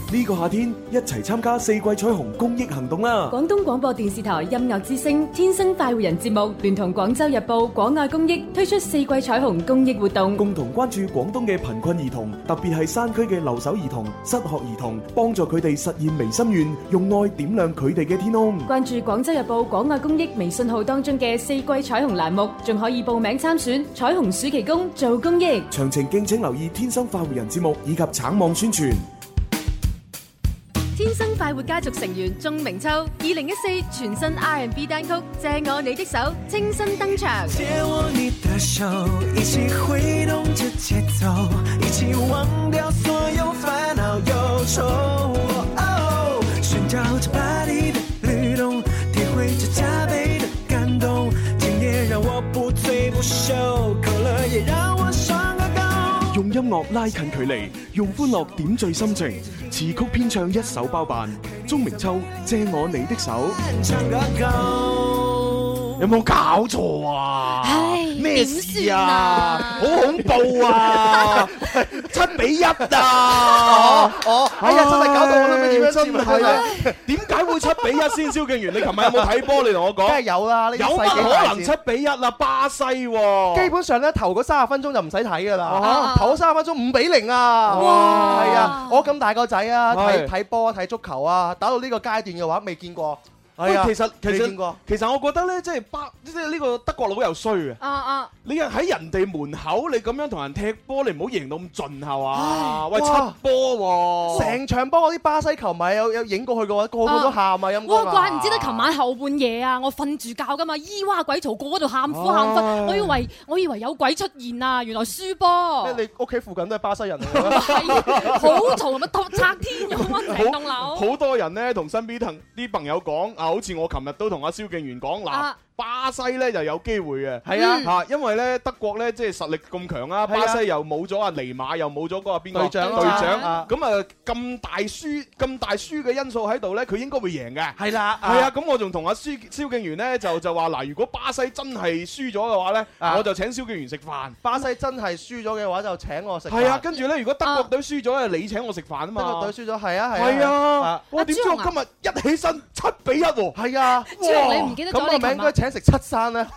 呢個夏天一齊參加四季彩虹公益行動啦！ 廣東廣播電視台音樂之聲《天生快活人》節目聯同廣州日報廣愛公益推出四季彩虹公益活動， 共同關注廣東嘅貧困兒童，特別係山區嘅留守兒童、失學兒童，幫助佢哋實現微心願，用愛點亮佢哋嘅天空。 關注廣州日報廣愛公益微信號當中嘅四季彩虹欄目，仲可以報名參選彩虹暑期工做公益。 詳情敬請留意《天生快活人》節目以及橙網宣傳。 天生快活家族成員鐘明秋2014全新 R&B 單曲《借我你的手》清新登場。 借我你的手，一起揮動着節奏，一起忘掉所有煩惱憂愁。尋找着巴黎的律動，體會着加倍的感動。今夜讓我不醉不休，口了也讓我雙個高。 用音樂拉近距離，用歡樂點綴心情。詞曲編唱一手包辦，鐘明秋借我你的手。有冇搞錯啊？咩事啊？好恐怖啊！7-1啊！ 哎呀，真係搞到我都唔知點樣真係點解會7-1先？蕭敬元，你琴日有冇睇波？你同我講。 梗係有啦， 有乜可能7-1啊？巴西喎。基本上咧，頭嗰30分鐘就唔使睇㗎啦。頭嗰30分鐘5-0啊！哇！係啊，我咁大個仔啊，睇波睇足球啊，打到呢個階段嘅話，未見過。 喂，其實我覺得咧，即係呢個德國佬又衰啊！你喺人哋門口，你咁樣同人踢波，你唔好贏到咁盡係嘛？喂，7波喎！ 成場波嗰啲巴西球迷有影過去嘅話，個個都喊啊！陰公啊！ 哇，怪唔知得琴晚後半夜啊，我瞓住覺㗎嘛，咿哇鬼嘈，個個度喊苦喊忽，我以為有鬼出現啊，原來輸波。 你屋企附近都係巴西人嚟㗎？係，好嘈，咪拆天咁啊！成棟樓。 好多人咧同身邊啲朋友講啊。好似我琴日都同阿蕭敬元講嗱。巴西咧就有機會嘅，係啊嚇，因為咧德國咧即係實力咁強啊，巴西又冇咗阿尼馬，又冇咗嗰個邊個隊長，咁啊咁大輸嘅因素喺度咧，佢應該會贏嘅。係啦，係啊，咁我仲同阿蕭敬元咧就話嗱，如果巴西真係輸咗嘅話咧，我就請蕭敬元食飯。 巴西真係輸咗嘅話就請我食飯。 係啊，跟住咧，如果德國隊輸咗咧，你請我食飯啊嘛。 德國隊輸咗，係啊係啊。 係啊，我點知我今日一起身7-1喎？係啊， 朱紅你唔記得咗你琴晚食7餐咧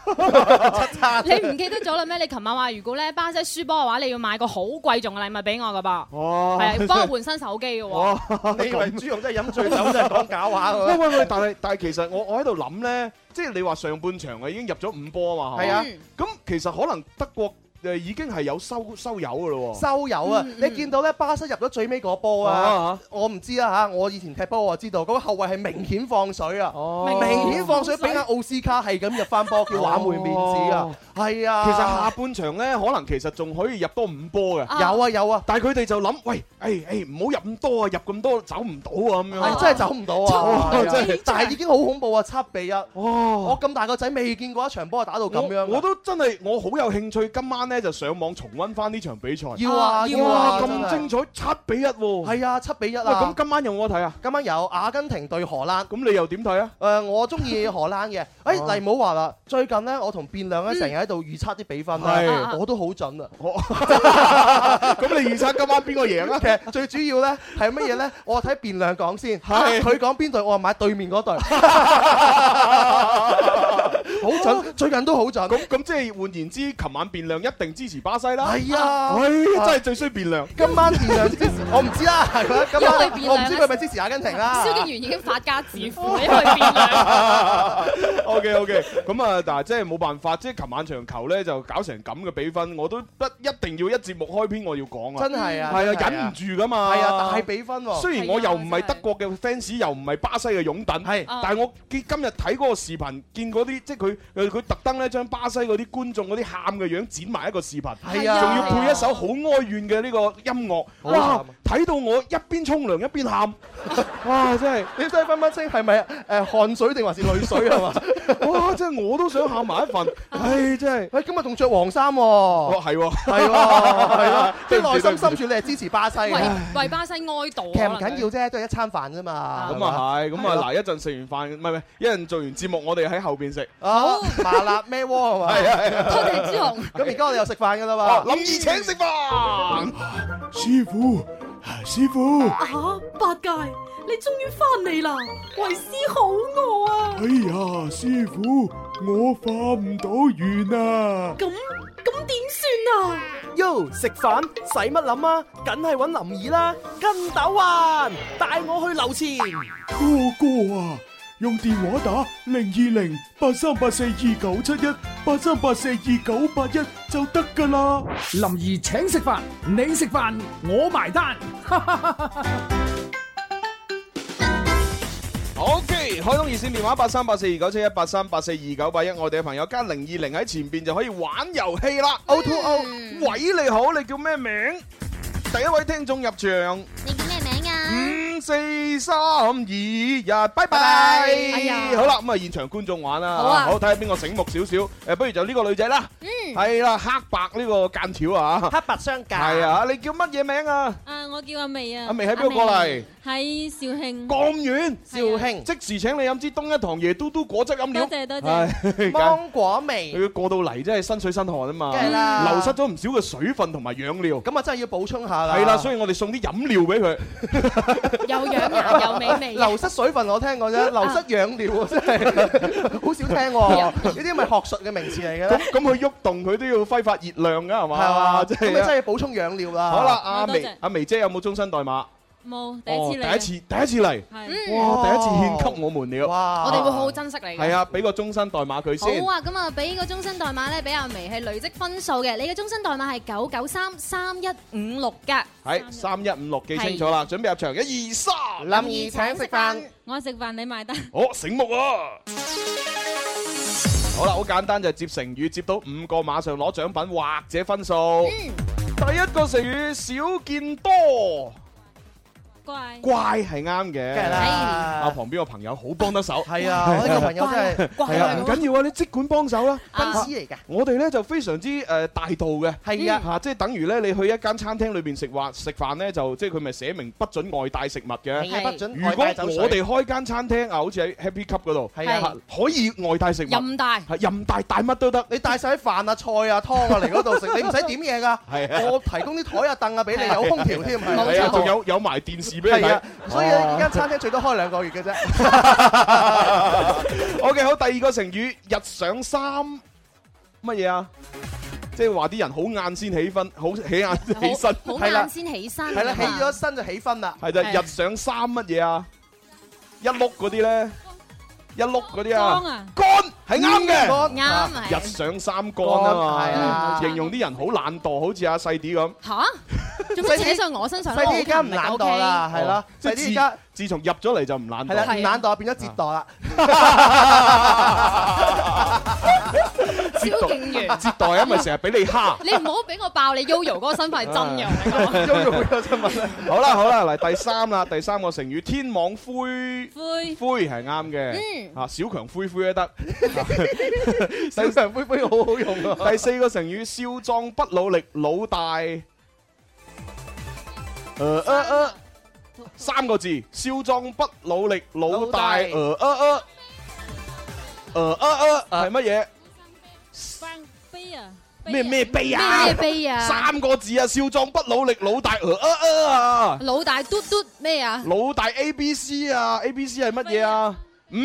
，7餐。 你唔記得咗啦咩？你琴晚話如果咧巴西輸波嘅話，你要買個好貴重嘅禮物俾我噶噃。哦，係啊，幫我換新手機嘅喎。 你以為朱紅真係飲醉酒真係講假話㗎？ 喂，但係其實我喺度諗咧，即係你話上半場已經入咗5波啊嘛。係啊，咁其實可能德國已經係有收油㗎咯喎。收油啊！你見到咧巴西入咗最尾嗰波啊？我唔知啦嚇，我以前踢波我知道，嗰個後衞係明顯放水啊！明顯放水，俾阿奧斯卡係咁入翻波，叫挽回面子啊！係啊，其實下半場咧，可能其實仲可以入多5波嘅。有啊，但係佢哋就諗，喂，唔好入咁多啊，入咁多走唔到啊咁樣。係真係走唔到啊！但係已經好恐怖啊，7-1。我咁大個仔未見過一場波打到咁樣。我都真係我好有興趣，今晚咧就上網重溫翻呢場比賽。要啊！咁精彩，7-1喎。係啊，7-1啊！咁今晚有冇得睇啊？今晚有阿根廷對荷蘭。咁你又點睇啊？我中意荷蘭嘅。黎冇話啦，最近咧我同變亮咧成日喺度預測啲比分啦，我都好準啊！咁你預測今晚邊個贏啊？其實最主要咧係乜嘢咧？我睇變亮講先，佢講邊隊，我買對面嗰隊。好準，最近都好準。咁即係換言之，琴晚變亮一定支持巴西啦。係啊，真係最衰變亮。今晚變亮支持，我唔知啦。今晚我唔知佢係咪支持阿根廷啦。 蕭敬元已經發家致富，因為變亮。 OK，咁啊，但係即係冇辦法，即係琴晚場球咧就搞成咁嘅比分，我都一定要一節目開篇我要講啊。真係啊，係啊，忍唔住噶嘛。係啊，大比分喎。雖然我又唔係德國嘅 fans，又唔係巴西嘅擁躉，係，但係我今日睇嗰個視頻，見嗰啲即係佢特登咧將巴西嗰啲觀眾嗰啲喊嘅樣剪埋一個視頻，係啊，仲要配一首好哀怨嘅呢個音樂，哇！睇到我一邊沖涼一邊喊，哇！真係你真係分不清係咪汗水定還是淚水係嘛？哇！真係我都想喊埋一份，唉！真係，今日仲着黃衫喎，係喎，即係內心深處你係支持巴西嘅， 為巴西哀悼。 其實唔緊要啫，都係一餐飯啫嘛。咁啊係，咁啊嗱，一陣食完飯，唔係，一陣做完節目，我哋喺後邊食。好麻辣咩鍋係嘛？係啊， 多謝朱紅。 咁而家我哋又食飯㗎啦嘛。 林兒請食飯，師傅。 師傅。 八戒，你終於翻嚟啦！為師好餓啊！ 哎呀，師傅，我化唔到緣啊！ 咁點算啊？ 喲，食飯使乜諗啊？梗係揾林兒啦！跟斗雲，帶我去樓前。 哥啊，用電話打02083842971 83842981就得噶啦。 林兒請食飯，你食飯我埋單。 OK， 開通熱線電話83842971 83842981，我哋嘅朋友加020喺前邊就可以玩遊戲啦。O2O， 喂，你好，你叫咩名？第一位聽眾入場。 你叫咩名啊 ？5、4、3、2、1，拜拜。好啦，咁啊現場觀眾玩啦。 好啊， 好睇下邊個醒目少少。不如就呢個女仔啦。係啦，黑白呢個間條啊。 黑白相間。 係啊，你叫乜嘢名啊？ 我叫阿薇啊。 阿薇喺邊度過嚟？ 喺肇慶。 咁遠？ 肇慶。 即時請你飲支東一堂椰嘟嘟果汁飲料。 多謝。 芒果味。 佢過到嚟真係身水身汗啊嘛。 梗係啦。 流失咗唔少嘅水分同埋養料。 咁啊真係要補充下啦。 係啦，所以我哋送啲飲料俾佢。 又養顏又美味。 流失水分我聽過啫，流失養料真係好少聽喎。呢啲咪學術嘅名詞嚟嘅。 咁佢喐動佢都要揮發熱量㗎係嘛？ 係嘛？ 咁你真係要補充養料啦。 好啦，阿薇姐有冇終身代碼？ 冇，第一次嚟。 第一次嚟。哇！第一次獻給我們了。 哇！ 我哋會好好珍惜你。 係啊，俾個終身代碼佢先。 好啊，咁啊，俾個終身代碼咧，俾阿薇係累積分數嘅。你嘅終身代碼係9933156㗎。 係3156，記清楚啦。準備入場，1、2、3。 林兒請食飯， 我食飯你埋單。 醒目啊！好啦，好簡單，就係接成語，接到5個馬上攞獎品或者分數。第一個成語少見多。乖係啱嘅， 梗係啦。 旁邊個朋友好幫得手。係啊，我呢個朋友真係係啊，唔緊要啊，你即管幫手啦。 分子嚟㗎。 我哋咧就非常之大度嘅。 係啊， 即係等於咧，你去一間餐廳裏邊食飯咧，就即係佢咪寫明不准外帶食物嘅。 係不准。 如果我哋開間餐廳啊，好似喺 Happy Cup 嗰度，係啊，可以外帶食物。 任帶。 任帶帶乜都得。 你帶晒啲飯啊、菜啊、湯啊嚟嗰度食，你唔使點嘢㗎。係啊。我提供啲台啊、凳啊俾你，有空調添。 係啊，仲有埋電視俾你睇。 所以呢間餐廳最多開2個月嘅啫。 OK， 好，第二個成語日上三乜嘢啊？即係話啲人好晏先起身，好起身， 好晏先起身。 係啦，起咗身就起身啦。 係就日上三乜嘢啊？一碌嗰啲咧，一碌嗰啲啊，乾係啱嘅， 啱啊！ 日上三乾啊嘛，形容啲人好懶惰，好似阿細啲咁。 嚇？做咩扯上我身上？ 細啲而家唔懶惰啦，係咯。細啲而家自從入咗嚟就唔懶惰。 係啦，唔懶惰變咗折墮啦。 超勁完。 折墮因為成日俾你蝦。 你唔好俾我爆你 Yoyo 嗰個身份係真嘅。 Yoyo 嗰個身份。 好啦，嚟第三啦，第三個成語天網恢係啱嘅。小強灰都得。 小強灰好好用啊。 第四個成語少壯不努力，老大。3個字，少壯不努力，老大。係乜嘢？ 悲啊！ 咩悲啊？ 咩悲啊 ？3個字啊，少壯不努力，老大。 老大嘟嘟咩啊？ 老大 ABC 啊 ，ABC 係乜嘢啊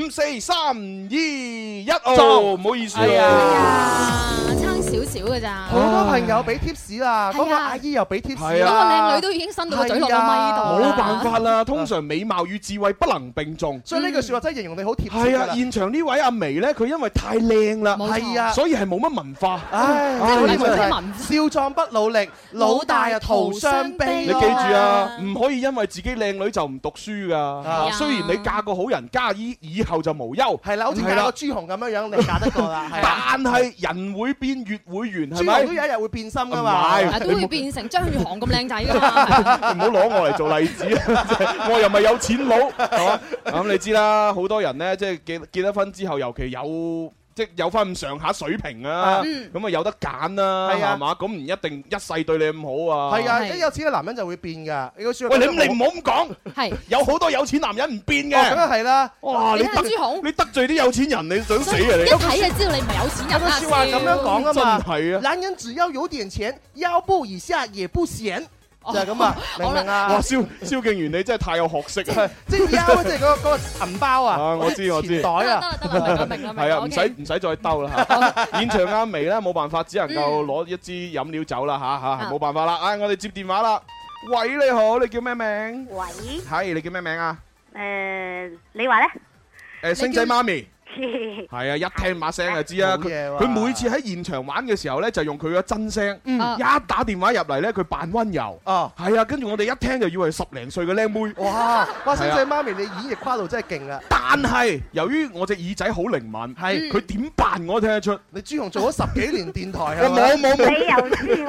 ？5、4、3、2、1，唔好意思啊。 少少嘅咋， 好多朋友俾 tips 啦，嗰個阿姨又俾 tips， 嗰個靚女都已經伸到個嘴落個咪度。 冇辦法啦，通常美貌與智慧不能並重， 所以呢句説話真係形容你好貼切。 係啊，現場呢位阿薇咧，佢因為太靚啦， 係啊， 所以係冇乜文化。 少壯不努力，老大啊徒傷悲。 你記住啊，唔可以因為自己靚女就唔讀書㗎。雖然你嫁個好人家，以後就無憂。 係啦，好似嫁個朱紅咁樣樣，你嫁得過啦。 但係人會變，月會圓，係咪？ 朱紅都有一日會變心㗎嘛， 都會變成張宇航咁靚仔㗎嘛。 唔好攞我嚟做例子，我又唔係有錢佬，係嘛？咁你知啦，好多人咧，即係結咗婚之後，尤其即係有翻咁上下水平啊，咁啊有得揀啦，係嘛？咁唔一定一世對你咁好啊。係啊，一有錢嘅男人就會變㗎。喂，你唔好咁講，係有好多有錢男人唔變嘅。咁啊係啦。哇！你得罪啲有錢人，你想死啊你！ 一睇就知道你唔係有錢人啦。 説話咁樣講啊嘛。 真係啊！ 男人只要有點錢，腰部以下也不閒。 就係咁啊，明唔明啊？ 哇，蕭敬元你真係太有學識啊！ 即係腰，即係嗰個銀包啊！ 我知錢袋啊！ 得啦，明啦， 係啊，唔使再兜啦嚇。現場阿眉咧冇辦法，只能夠攞一支飲料走啦嚇，冇辦法啦。我哋接電話啦。喂，你好，你叫咩名？ 喂， 係你叫咩名啊？ 你話咧？ 星仔媽咪。係啊，一聽把聲就知啊。佢每次喺現場玩嘅時候咧，就用佢嘅真聲。一打電話入嚟咧，佢扮溫柔。係啊，跟住我哋一聽就以為10零歲嘅靚妹。 哇！星仔媽咪，你演繹跨度真係勁啊！ 但係由於我隻耳仔好靈敏，係佢點扮我都聽得出。 你朱紅做咗10幾年電台啊？ 冇。 你又知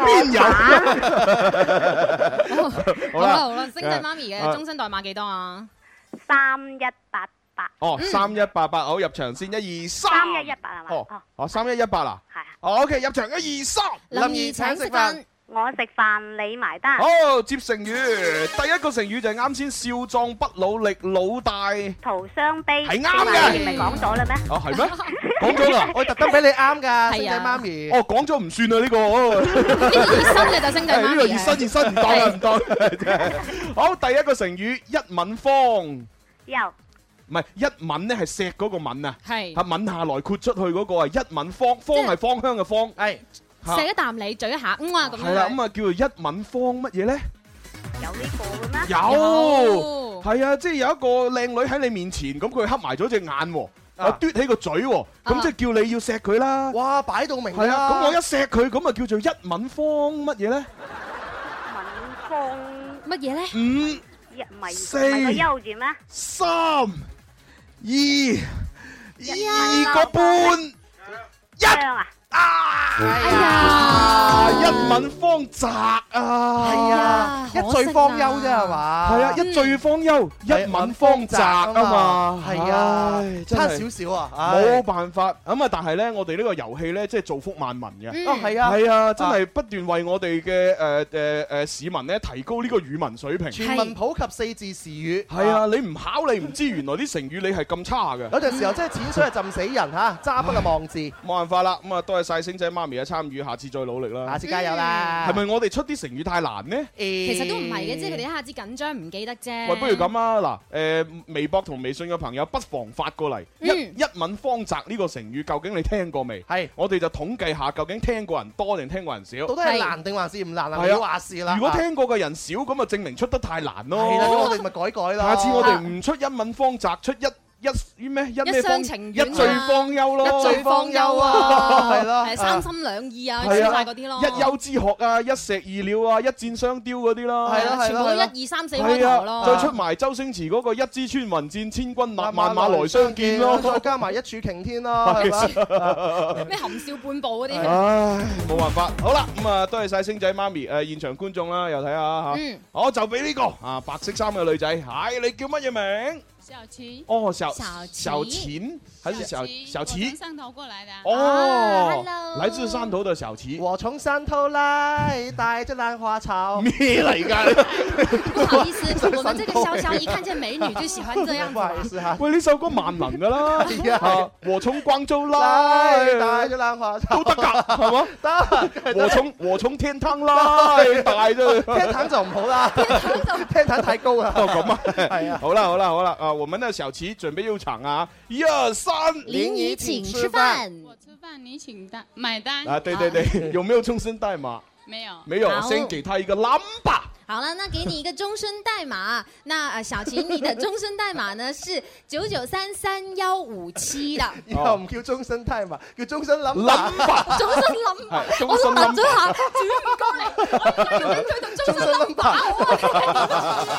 我邊有？ 好啦，星仔媽咪嘅終身代碼幾多啊 ？3188。 哦，3188，好，入場先，1、2、3。 3118係嘛？ 哦，3118啦。 係啊。 OK，入場1、2、3。 林怡請食飯， 我食飯你埋單。 好，接成語，第一個成語就係啱先，少壯不努力，老大徒傷悲。 係啱嘅。 你唔係講咗啦咩？ 哦，係咩？講咗啦， 我特登俾你啱㗎，星仔媽咪。 哦，講咗唔算啊呢個。 呢個熱身嘅就星仔媽咪。 呢個熱身唔當啦，唔當。好，第一個成語一吻芳。 有。 唔係一吻咧，係錫嗰個吻啊， 係吻下來豁出去嗰個係一吻芳，芳係芳香嘅芳， 係錫一啖你，咀一下，咁樣。 係啦，咁啊叫做一吻芳乜嘢咧？ 有呢個嘅咩？ 有，係啊，即係有一個靚女喺你面前，咁佢黑埋咗隻眼喎，嘟起個嘴喎，咁即係叫你要錫佢啦。 哇，擺到明啦。 係啊，咁我一錫佢，咁啊叫做一吻芳乜嘢咧？ 吻芳乜嘢咧 ？5、4、 優字咩 ？3、2個半1。哎呀！一吻芳澤啊！ 係啊，一醉方休啫係嘛？ 係啊，一醉方休，一吻芳澤啊嘛！ 係啊，差少少啊！ 冇辦法咁啊！但係咧，我哋呢個遊戲咧，即係造福萬民嘅。 係啊， 係啊，真係不斷為我哋嘅市民咧提高呢個語文水平。 全民普及4字詞語。 係啊，你唔考你唔知原來啲成語你係咁差嘅。 有陣時候真係淺水係浸死人嚇，揸筆嘅忘字。 冇辦法啦，咁啊多謝晒星仔媽咪嘅參與，下次再努力啦。 下次加油啦！ 係咪我哋出啲成語太難呢？ 其實都唔係嘅，即係佢哋一下子緊張唔記得啫。 喂，不如咁啊，嗱，微博同微信嘅朋友不妨發過嚟，一吻芳澤呢個成語究竟你聽過未？係，我哋就統計下究竟聽過人多定聽過人少。 到底係難定還是唔難啊？你話事啦。 如果聽過嘅人少，咁啊證明出得太難咯。 係啦，咁我哋咪改改啦。 下次我哋唔出一吻芳澤，出一廂情願，一醉方休咯， 一醉方休啊，係咯， 三心兩意啊，出晒嗰啲咯， 一丘之貉啊，一石二鳥啊，一箭雙雕嗰啲咯， 係咯， 全部都1、2、3、4開頭咯， 再出埋周星馳嗰個一支穿雲箭，千軍萬馬來相見咯， 再加埋一柱擎天咯，係嘛？ 咩含笑半步嗰啲， 唉，冇辦法，好啦，咁啊，多謝晒星仔媽咪，現場觀眾啦，又睇下嚇，我就俾呢個啊白色衫嘅女仔，係你叫乜嘢名？ 小琪哦，小琴還是小琪？ 汕頭過來的哦，來自汕頭的小琪。 我從汕頭來，帶着蘭花草。 咩嚟㗎？ 不好意思，我們這個瀟瀟一看見美女就喜歡這樣子。 不好意思嚇。 喂，呢首歌萬能㗎啦。我從廣州來， 帶着蘭花草都得㗎，係嘛？ 得。 我從天堂來，帶着。 天堂就唔好啦，天堂太高啦。 哦，咁啊， 係啊。 好啦，啊，我們的小琪準備入場啊！1、2、3， 林怡請吃飯， 我吃飯你請單買單啊！對，有沒有終身代碼？沒有，先給他一個 number。 好了，那給你一個終身代碼。那小琪，你的終身代碼呢是99333157的。 以後唔叫終身代碼，叫終身 number。 終身 number，我都問咗下，主唔該你，我有興趣同終身 number。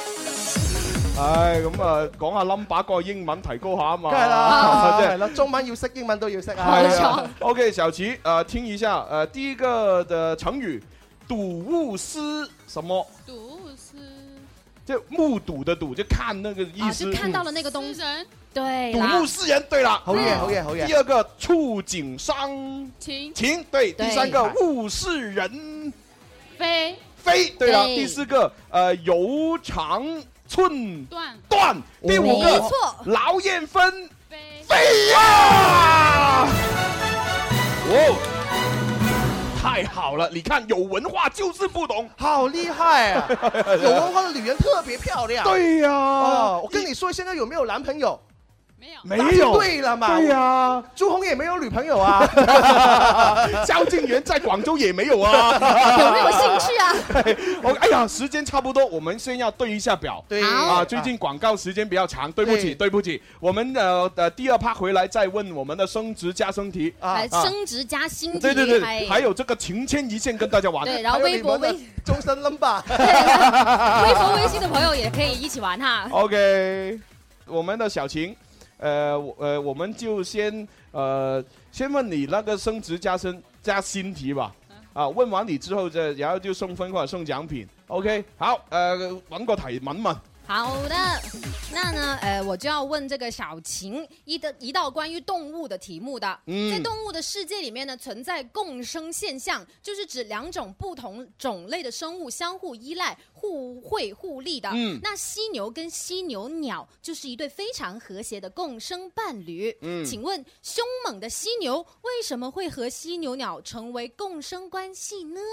唉，咁啊，講下 number 嗰個英文提高下啊嘛。 梗係啦，係啦，中文要識，英文都要識啊。 沒錯。OK，小琪，聽一下，第一個的成語，睹物思什麼？ 睹物思， 就目睹的睹，就看那個意思。 就看到了那個東西。對。 睹物思人，對啦。 好嘢。 第二個觸景傷情，對。第三個物是人非， 對啦。第四個由長寸斷，第五個勞燕分飛呀！哦， 太好了，你看有文化就是不懂， 好厉害啊！有文化的女人特别漂亮。 对呀， 我跟你说，现在有没有男朋友？ 没有， 对了嘛， 对呀， 朱红也没有女朋友啊， 萧敬元在广州也没有啊， 有没有興趣啊？ 哎呀，時間差不多，我們先要對一下表。 對啊，最近廣告時間比較長，對不起，我們第二 part 回來再問我們的升職加薪題啊，升職加薪題， 對，還有這個情牽一線跟大家玩。 對，然後微博終身 number， 微博微信的朋友也可以一起玩哈。 OK， 我們的小晴。我們就先問你那個升職加薪題吧。啊，問完你之後然後就送分或者送獎品。OK， 好，揾個題問問。 好的，那呢，我就要問這個小晴一道關於動物的題目的。在動物的世界裡面呢，存在共生現象，就是指兩種不同種類的生物相互依賴、互惠互利的。那犀牛跟犀牛鳥就是一對非常和諧的共生伴侶。請問兇猛的犀牛為什麼會和犀牛鳥成為共生關係呢？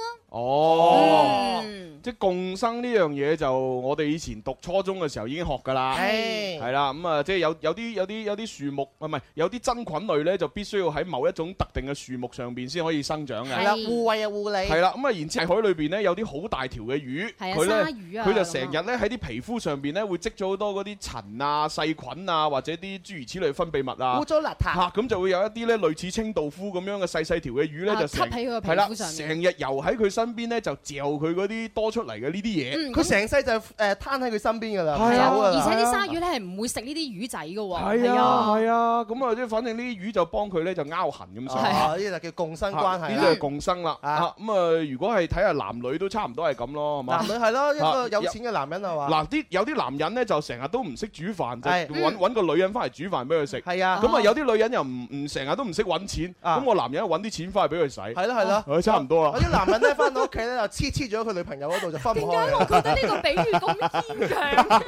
即係共生呢樣嘢就我哋以前讀初中嘅時候已經學㗎啦，係啦，咁啊，即係有啲樹木唔係有啲真菌類咧，就必須要喺某一種特定嘅樹木上邊先可以生長嘅。 係啦，互惠啊互利。係啦，咁啊，然之後海裏邊咧有啲好大條嘅魚，佢就成日咧喺啲皮膚上邊咧會積咗好多嗰啲塵啊、細菌啊，或者啲諸如此類分泌物啊， 污糟邋遢嚇，咁就會有一啲咧類似清道夫咁樣嘅細條嘅魚咧，就成係啦，成日游喺佢身邊咧就嚼佢嗰啲多出嚟嘅呢啲嘢。 佢成世就攤喺佢身邊㗎啦。 係啊，而且啲鯊魚咧係唔會食呢啲魚仔㗎喎。 係啊，咁啊即係反正呢啲魚就幫佢咧就拗痕咁上下。 呢啲就叫共生關係。 呢啲係共生啦。咁啊，如果係睇下男女都差唔多係咁咯，係嘛？ 男女係咯，一個有錢嘅男人係嘛？ 嗱，有啲男人咧就成日都唔識煮飯，就揾個女人翻嚟煮飯俾佢食。 係啊。 咁啊有啲女人又唔成日都唔識揾錢，咁個男人揾啲錢翻嚟俾佢使。 係咯。 差唔多啦。 有啲男人咧翻到屋企咧就黐咗佢女朋友嗰度就分唔開。 點解我覺得呢個比喻咁牽強？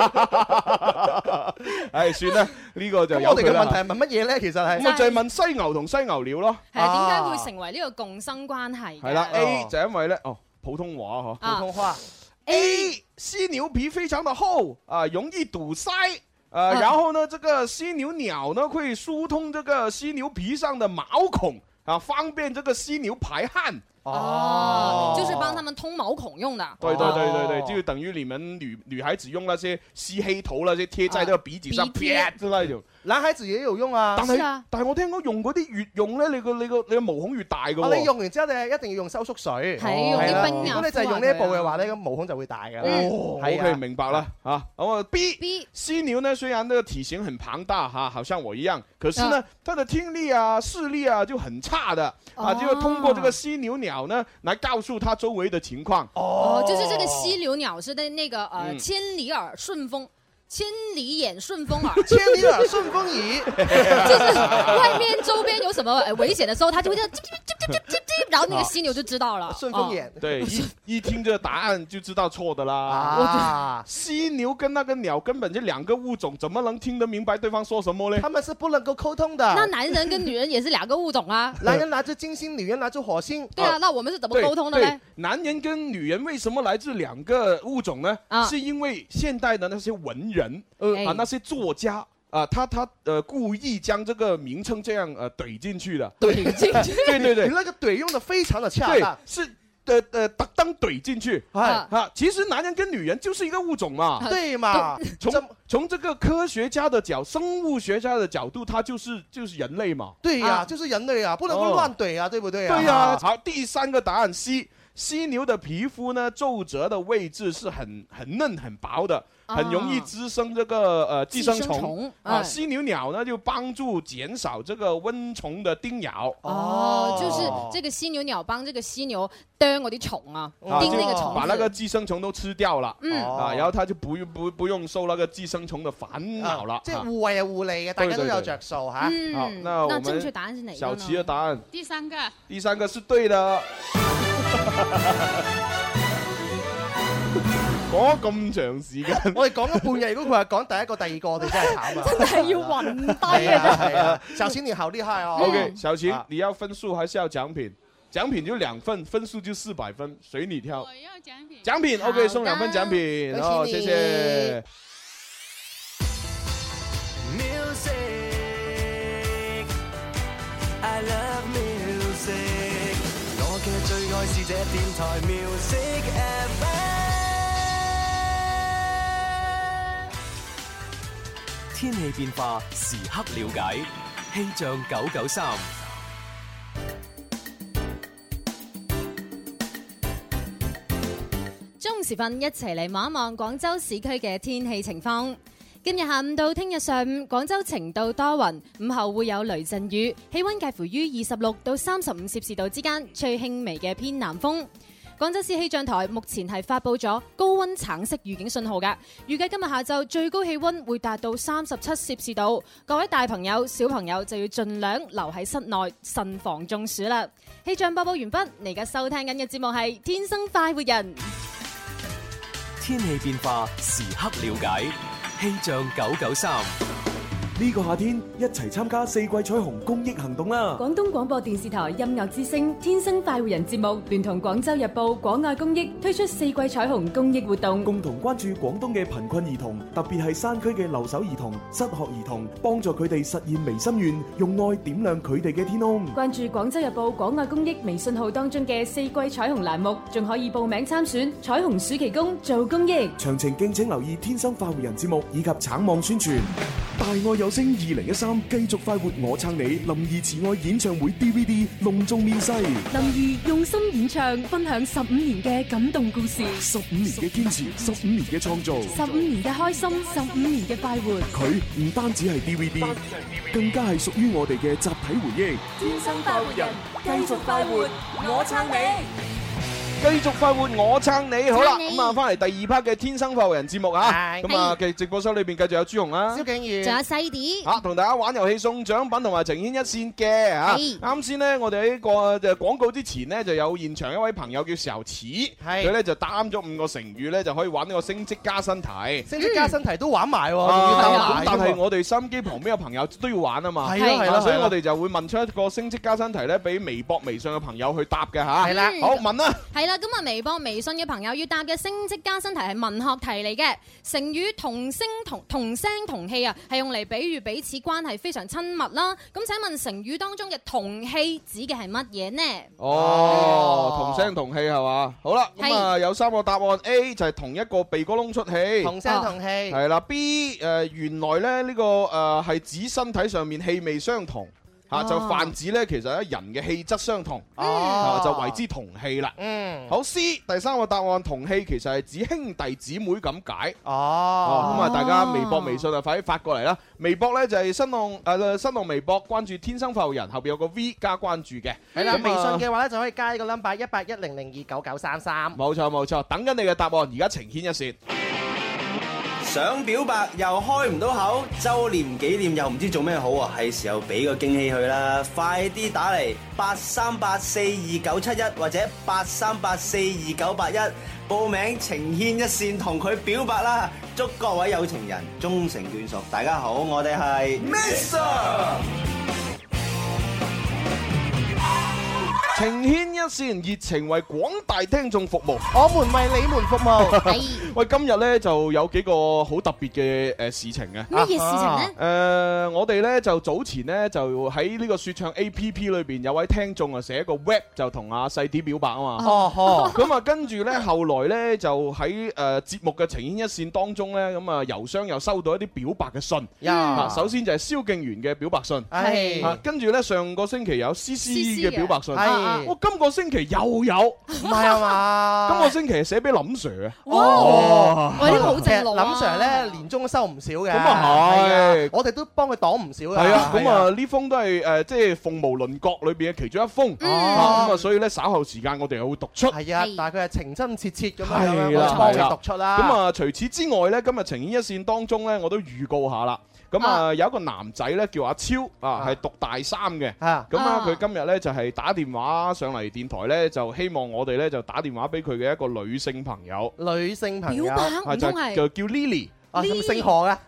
唉，算啦，呢個就有佢啦。 我哋嘅問題係問乜嘢咧？其實係咁就係問犀牛同犀牛鳥咯。 係啊，點解會成為呢個共生關係？ 係啦 ，A 就因為咧，普通話嗬， 普通話 A 犀牛皮非常的厚啊，容易堵塞。然後呢，這個犀牛鳥呢會疏通這個犀牛皮上的毛孔啊，方便這個犀牛排汗。 就是幫他們通毛孔用的。 對，就等於你們女孩子用那些吸黑頭那些貼在這個鼻子上，啪之類就。 男孩子也有用啊。 但係我聽講用嗰啲越用咧，你個毛孔越大噶。 你用完之後，你一定要用收縮水。 係用啲冰啊。 如果你就係用呢一步嘅話咧，咁毛孔就會大噶。 OK，明白啦。咁啊 B 犀牛呢，雖然呢個體型很龐大哈，好像我一樣，可是呢，它的聽力啊、視力啊就很差的啊，就通過這個犀牛鳥呢，來告訴它周圍的情況。 就是這個犀牛鳥是在那個千里耳順風。千里眼順風耳， 千里耳順風耳， 就是外面周邊有什麼危險的時候，它就會這樣，然後那個犀牛就知道了。 順風眼， 對，一聽這個答案就知道錯的啦。犀牛跟那個鳥根本就兩個物種，怎麼能聽得明白對方說什麼呢？ 他們是不能夠溝通的。 那男人跟女人也是兩個物種啊。 男人拿着金星，女人拿着火星。 對啊，那我們是怎麼溝通的呢？ 男人跟女人為什麼來自兩個物種呢？是因為現代的那些文人。那些作家他故意將這個名稱這樣懟進去的， 懟進去， 對， 你那個懟用得非常的恰當， 是特登懟進去，其實男人跟女人就是一個物種嘛， 對嘛？ 從這個科學家的生物學家的角度，他就是人類嘛， 對呀，就是人類啊，不能夠亂懟啊，對不對啊？ 對呀，好，第三個答案 C， 犀牛的皮膚呢，皺褶的位置是很嫩很薄的。很容易滋生這個寄生蟲啊，犀牛鳥呢就幫助減少這個蚊蟲的叮咬。 就是這個犀牛鳥幫這個犀牛叮嗰啲蟲啊，叮那個蟲， 把那個寄生蟲都吃掉了。然後他就不用受那個寄生蟲的煩惱了。 即係互惠啊互利嘅，大家都有着數吓。 好，那我們正確答案是哪個呢？ 小琪的答案， 第三個是對的。講咗咁長時間， 我哋講咗半日，如果佢係講第一個、第二個，我哋真係慘啊！ 真係要暈低啊！ 係啊，小晴你好厲害哦。 OK， 小晴，你要分數還是要獎品？ 獎品就2份，分數就400分，隨你挑。 我要獎品。 獎品 OK， 送2份獎品，好，謝謝。 I love music， 我嘅最愛是這電台 Music FM。天氣變化時刻了解，氣象993。 中午時分一齊嚟望一望廣州市區嘅天氣情況。今日下午到聽日上午，廣州晴到多雲，午後會有雷陣雨，氣溫介乎於26到35攝氏度之間，吹輕微嘅偏南風。廣州市氣象台目前係發佈咗高溫橙色預警信號㗎，預計今日下晝最高氣溫會達到37攝氏度，各位大朋友小朋友就要盡量留喺室內，慎防中暑啦。氣象播報完畢，你而家收聽緊嘅節目係《天生快活人》， 天氣變化時刻了解。氣象993， 呢個夏天一齊參加4季彩虹公益行動啦！ 廣東廣播電視台音樂之聲《天生快活人》節目聯同廣州日報廣愛公益推出4季彩虹公益活動， 共同關注廣東嘅貧困兒童，特別係山區嘅留守兒童、失學兒童，幫助佢哋實現微心願，用愛點亮佢哋嘅天空。 關注廣州日報廣愛公益微信號當中嘅4季彩虹欄目，仲可以報名參選彩虹暑期工做公益。 詳情敬請留意《天生快活人》節目以及橙網宣傳。大愛有聲2013繼續快活我撐你林兒慈愛演唱會 DVD 隆重面世， 林兒用心演唱，分享15年嘅感動故事 ，15年嘅堅持，15年嘅創造 ，15年嘅開心，15年嘅快活。 佢唔單止係 DVD， 更加係屬於我哋嘅集體回憶。 天生快活人，繼續快活，我撐你。 繼續快活，我撐你。好啦，咁啊，翻嚟第2 part 嘅天生快活人節目啊，咁啊嘅直播室裏邊繼續有朱紅啦、 蕭敬宇， 仲有細啲， 同大家玩遊戲送獎品同埋情牽一線嘅嚇。啱先呢，我哋喺個廣告之前呢，就有現場一位朋友叫小池，佢咧就擔咗5個成語咧，就可以玩呢個升職加薪題。 升職加薪題都玩埋喎， 咁但係我哋收音機旁邊嘅朋友都要玩啊嘛， 係啦， 所以我哋就會問出一個升職加薪題咧，俾微博、微信嘅朋友去答嘅嚇。 係啦， 好問啦。 係啦，咁啊微博、微信嘅朋友要答嘅升職加薪題係文學題嚟嘅，成語同聲同氣啊，係用嚟比喻彼此關係非常親密啦。咁請問成語當中嘅同氣指嘅係乜嘢呢？ 同聲同氣係嘛？好啦，咁啊有3個答案 ，A 就係同一個鼻哥窿出氣， 同聲同氣。 係啦 ，B 原來咧呢個係指身體上面氣味相同。就泛指咧，其實咧人嘅氣質相同，就為之同氣啦。好 C 第3個答案，同氣其實係指兄弟姊妹咁解。咁啊，大家微博、微信啊，快啲發過嚟啦！微博咧就係新浪微博關注天生快活人，後邊有個 V 加關注嘅。 係啦，微信嘅話咧就可以加呢個 number 1810029933。 冇錯，等緊你嘅答案，而家情牽一線。 想表白又開唔到口，周年紀念又唔知做咩好啊！係時候俾個驚喜佢啦！快啲打嚟83842971或者83842981報名情牽一線同佢表白啦！祝各位有情人終成眷屬！大家好，我哋係 Mr. 情牽一線，熱情為廣大聽眾服務， 我們為你們服務。 喂，今日咧就有幾個好特別嘅事情嘅。 乜嘢事情呢？ 我哋咧就早前咧就喺呢個說唱 APP 裏邊有位聽眾啊寫一個 rap 就同阿細啲表白啊嘛。咁啊跟住咧後來咧就喺節目嘅情牽一線當中咧咁啊郵箱又收到一啲表白嘅信。首先就係蕭敬元嘅表白信。跟住咧上個星期有 CC 嘅表白信。我今個星期又有， 唔係啊嘛？ 今個星期寫俾林 Sir 啊！ 哇！喂，呢個好正路啊！ 林 Sir 咧年終都收唔少嘅， 咁啊係， 我哋都幫佢擋唔少嘅。 係啊，咁啊呢封都係即係鳳毛麟角裏邊嘅其中一封。咁啊，所以咧稍後時間我哋又會讀出。 係啊，但係佢係情真切切咁樣，我幫佢讀出啦。 咁啊，除此之外咧，今日情牽一線當中咧，我都預告下啦。咁啊，有一個男仔咧叫阿超啊，係讀大3嘅。咁啊，佢今日咧就係打電話上嚟電台咧，就希望我哋咧就打電話俾佢嘅一個女性朋友。 女性朋友表白唔通係就叫 Lily。 姓何嘅？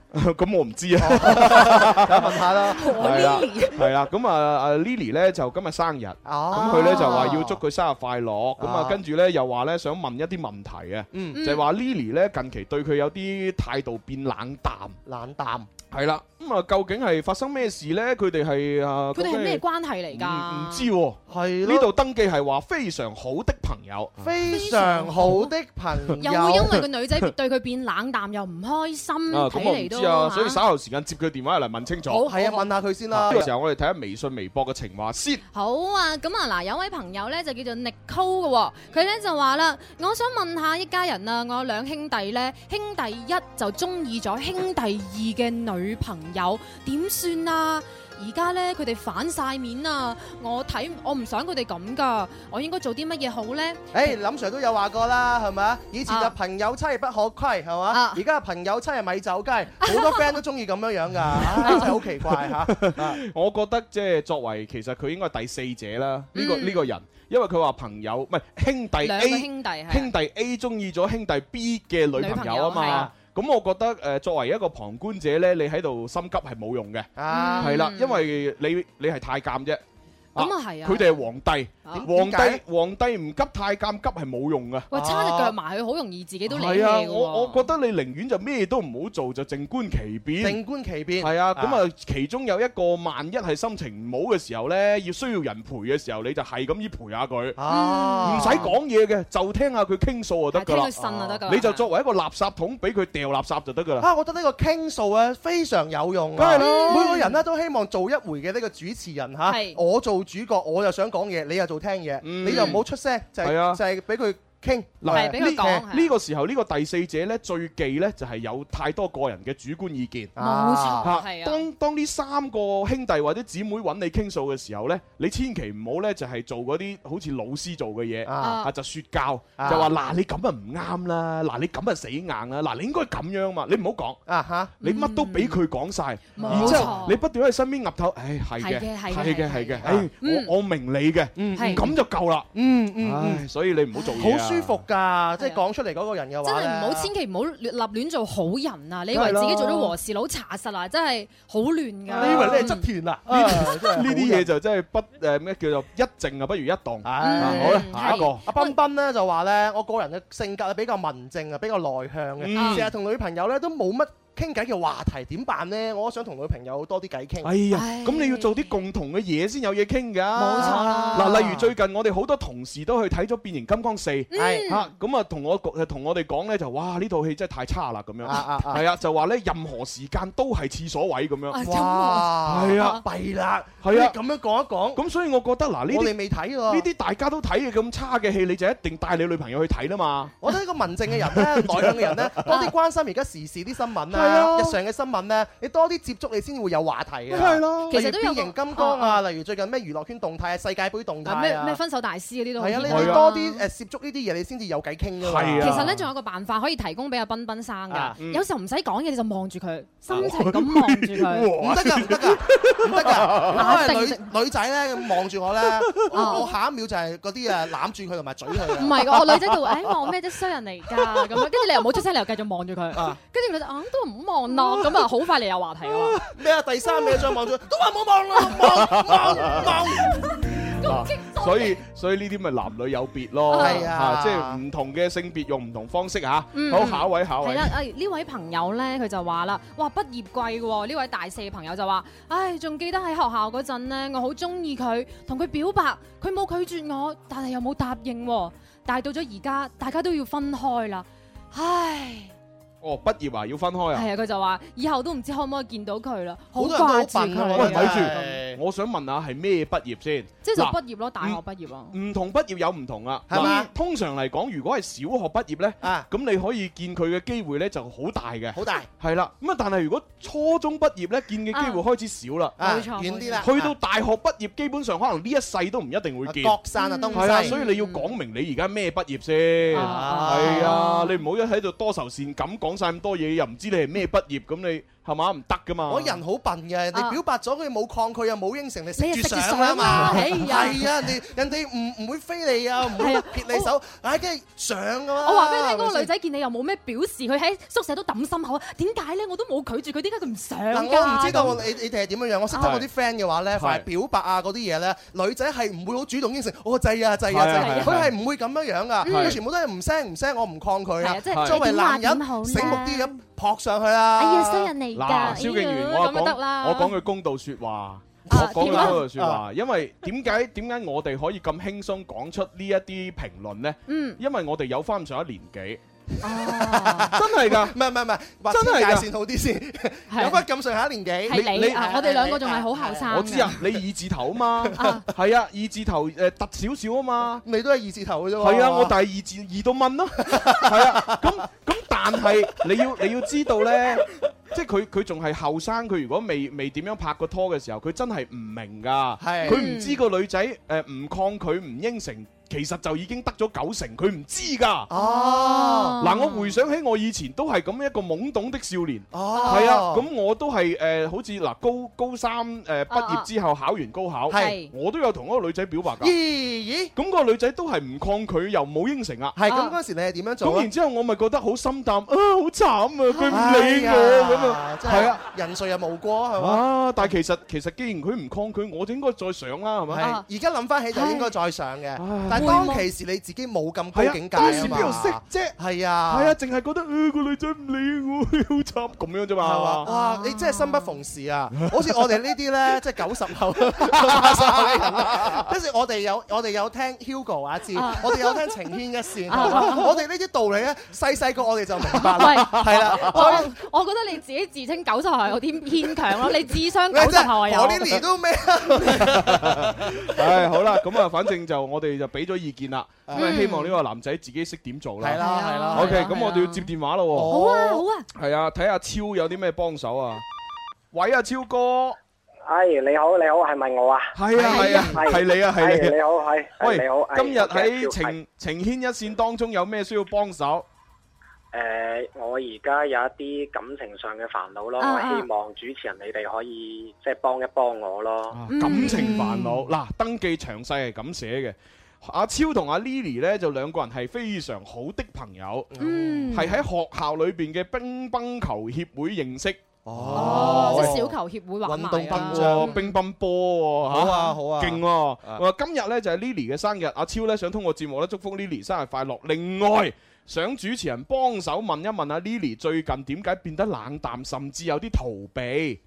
咁我唔知啊， 問下啦。 係啦，咁啊 Lily 咧就今日生日，咁佢咧就話要祝佢生日快樂，咁啊跟住咧又話咧想問一啲問題啊，就係話 Lily 咧近期對佢有啲態度變冷淡。係啦，咁啊究竟係發生咩事咧？佢哋係佢哋係咩關係嚟㗎？ 唔知喎，係呢度登記係話非常好的朋友， 非常好的朋友， 又會因為個女仔對佢變冷淡又唔開心，睇嚟都啊，所以稍後時間接佢電話嚟問清楚。 好，係啊，問下佢先啦。 呢個時候我哋睇下微信、微博嘅情話先。 好啊，咁啊嗱，有位朋友咧就叫做 Nicole 嘅，佢咧就話啦，我想問下一家人啊，我有兩兄弟咧，兄弟一就中意咗兄弟二嘅女朋友，點算啊？而家咧佢哋反晒面啊！我唔想佢哋咁噶，我應該做啲乜嘢好咧？ 林 Sir 都有話過啦，係咪啊？以前就朋友妻不可虧，係嘛？而家朋友妻係咪走雞，好多 friend 都中意咁樣樣㗎，真係好奇怪嚇。 我覺得即係作為其實佢應該係第四者啦，呢個人。因為佢話朋友唔係兄弟 A， 兄弟 A 中意咗兄弟 B 嘅女朋友啊嘛。咁我覺得作為一個旁觀者呢，你喺度心急係冇用嘅，係啦，因為你係太監啫。 咁啊係啊！ 佢哋係皇帝唔急太監急係冇用噶。 喂，叉隻腳埋去好容易自己都理氣。 係啊，我覺得你寧願就咩都唔好做，就靜觀其變。 靜觀其變。 係啊，咁啊，其中有一個萬一係心情唔好嘅時候呢，要需要人陪嘅時候，你就係咁依陪下佢，唔使講嘢嘅，就聽下佢傾訴就得㗎啦。 聽佢呻就得㗎。 你就作為一個垃圾桶，俾佢掉垃圾就得㗎啦。 我覺得呢個傾訴咧非常有用。 梗係啦， 每個人咧都希望做一回嘅呢個主持人嚇。我做主角，我就想講嘢，你又做聽嘢，你就唔好出聲，就係俾佢傾。 嗱， 呢個時候呢個第四者咧最忌咧就係有太多個人嘅主觀意見。 冇錯，係啊。 當呢三個兄弟或者姊妹揾你傾訴嘅時候咧，你千祈唔好咧就係做嗰啲好似老師做嘅嘢，就説教，就話嗱你咁啊唔啱啦，嗱你咁啊死硬啦，嗱你應該咁樣嘛，你唔好講你乜都俾佢講晒，然之後你不斷喺身邊岌頭，係嘅，我明你嘅，咁就夠啦，所以你唔好做嘢好舒服㗎，即係講出嚟嗰個人嘅話， 真係唔好，千祈唔好立亂做好人啊！你以為自己做咗和事佬查實啊，真係好亂㗎。 你以為你係側田啊？ 呢啲嘢就真係咩叫做一靜啊不如一動。好啦，下一個阿彬彬咧就話咧，我個人嘅性格係比較文靜啊，比較內向嘅，成日同女朋友咧都冇乜傾偈嘅話題，點辦呢？我想同女朋友多啲偈傾。 哎呀，咁你要做啲共同嘅嘢先有嘢傾㗎。 冇錯啦。 嗱，例如最近我哋好多同事都去睇咗《變形金剛4》，咁啊同我哋講咧就哇呢套戲真係太差啦咁樣。係啊，就話咧任何時間都係廁所位咁樣。 哇！係啊，弊啦。係啊，咁樣講一講。 咁所以我覺得嗱，呢啲我哋未睇喎。 呢啲大家都睇嘅咁差嘅戲，你就一定帶你女朋友去睇啦嘛。 我覺得呢個文靜嘅人咧，內向嘅人咧，多啲關心而家時事啲新聞啦，日常嘅新聞咧，你多啲接觸，你先會有話題嘅。 係咯， 其實都有變形金剛啊，例如最近咩娛樂圈動態啊、世界盃動態啊， 咩分手大師嗰啲都係啊，你多啲接觸呢啲嘢，你先至有偈傾㗎嘛。 其實咧，仲有個辦法可以提供俾阿彬彬生㗎。有時候唔使講嘢，你就望住佢，深情咁望住佢。 唔得㗎，唔得㗎，唔得㗎。因為女仔咧望住我咧，我下一秒就係嗰啲攬住佢同埋嘴佢。 唔係㗎，我女仔就會望咩啫，衰人嚟㗎咁樣。跟住你又冇出聲，你又繼續望住佢。跟住佢就都唔好望咯。咁啊，好快你有話題㗎嘛。 咩啊？第三秒再望住，都話冇望啦，望。 所以呢啲咪男女有別咯。係啊，即係唔同嘅性別用唔同方式嚇。好，下一位。係啦，呢位朋友咧，佢就話啦，哇，畢業季喎！呢位大四嘅朋友就話，仲記得喺學校嗰陣咧，我好中意佢，同佢表白，佢冇拒絕我，但係又冇答應喎。但係到咗而家，大家都要分開啦，唉。 哦，畢業啊，要分開啊？ 係啊，佢就話以後都唔知可唔可以見到佢啦，好多人都掛住佢。 喂，睇住，我想問下係咩畢業先？ 即係就畢業咯，大學畢業啊。 唔同畢業有唔同啊，係嘛？通常嚟講，如果係小學畢業咧，咁你可以見佢嘅機會咧就好大嘅。 好大。 係啦，咁啊，但係如果初中畢業咧，見嘅機會開始少啦。 冇錯， 遠啲啦。 去到大學畢業，基本上可能呢一世都唔一定會見。 各散啊東西。 係啊，所以你要講明你而家咩畢業先。係啊，你唔好一喺度多愁善感講晒咁多嘢，又唔知你係咩畢業，咁你係嘛？唔得噶嘛！ 我人好笨嘅，你表白咗佢冇抗拒又冇應承，你食住上啊嘛！係啊，人哋唔會飛你啊，唔會撇你手，梗係上㗎嘛！ 我話俾你聽，嗰個女仔見你又冇咩表示，佢喺宿舍都揼心口，點解咧？我都冇拒絕佢，點解佢唔上㗎？ 我唔知道你哋係點樣樣。我識得我啲 friend 嘅話咧，凡係表白啊嗰啲嘢咧，女仔係唔會好主動應承，我制啊，佢係唔會咁樣樣㗎，佢全部都係唔聲，我唔抗拒啊！作為男人醒目啲咁撲上去啦！ 哎呀，衰人嚟㗎！ 嗱，蕭敬元，我講句公道説話，因為點解我哋可以咁輕鬆講出呢一啲評論咧？因為我哋有翻上一年紀。真係㗎， 唔係，真係界線好啲先，有翻咁上下年紀。 係你，我哋兩個仲係好後生。 我知啊，你二字頭啊嘛，係啊，二字頭突少少啊嘛， 你都係二字頭嘅啫。 係啊，我但係二到蚊咯，係啊，咁但係你要知道咧，即係佢仲係後生，佢如果未點樣拍過拖嘅時候，佢真係唔明㗎，佢唔知個女仔唔抗拒唔應承。其實就已經得咗90%，佢唔知㗎。嗱，我回想起我以前都係咁一個懵懂的少年。係啊，咁我都係好似嗱高三畢業之後考完高考，我都有同嗰個女仔表白㗎。咦？咁個女仔都係唔抗拒又冇應承啊。 係咁嗰時你係點樣做？ 咁然之後我咪覺得好心淡啊，好慘啊，佢唔理我咁啊。係啊， 人誰又無過係嘛？ 但係其實既然佢唔抗拒，我就應該再上啦，係咪？ 而家諗翻起就應該再上嘅。當其時你自己冇咁高境界啊嘛，當時邊度識啫？係啊， 淨係覺得個女仔唔理我，好慘咁樣啫嘛。係嘛？ 哇！你真係生不逢時啊！好似我哋呢啲咧，即係90後、80後嘅人啦。跟住我哋有聽 Hugo 阿志，我哋有聽情牽一線。我哋呢啲道理咧，細個我哋就明白啦。係啦， 我覺得你自己自稱90後係有啲牽強咯。你智商90後係有。 我呢年都咩？ 好啦，咁啊，反正就我哋就俾咗意見啦，咁希望呢個男仔自己識點做啦。 係啦。 OK，咁我哋要接電話咯。 好啊。 係啊，睇下超有啲咩幫手啊？喂啊，超哥。 你好，係咪我啊？ 係啊，係你啊，係你。 你好，係。 喂， 你好。 今日喺情牽一線當中有咩需要幫手？ 我而家有一啲感情上嘅煩惱咯，我希望主持人你哋可以即係幫一幫我咯。 感情煩惱嗱，登記詳細係咁寫嘅。阿超同阿 Lily 咧就兩個人係非常好的朋友，係喺學校裏邊嘅乒乓球協會認識。 即係小球協會玩埋運動乒乓乒乓波喎。 好啊， 勁喎！今日咧就係 Lily 嘅生日，阿超咧想通過節目咧祝福 Lily 生日快樂。另外，想主持人幫手問一問阿 Lily 最近點解變得冷淡，甚至有啲逃避。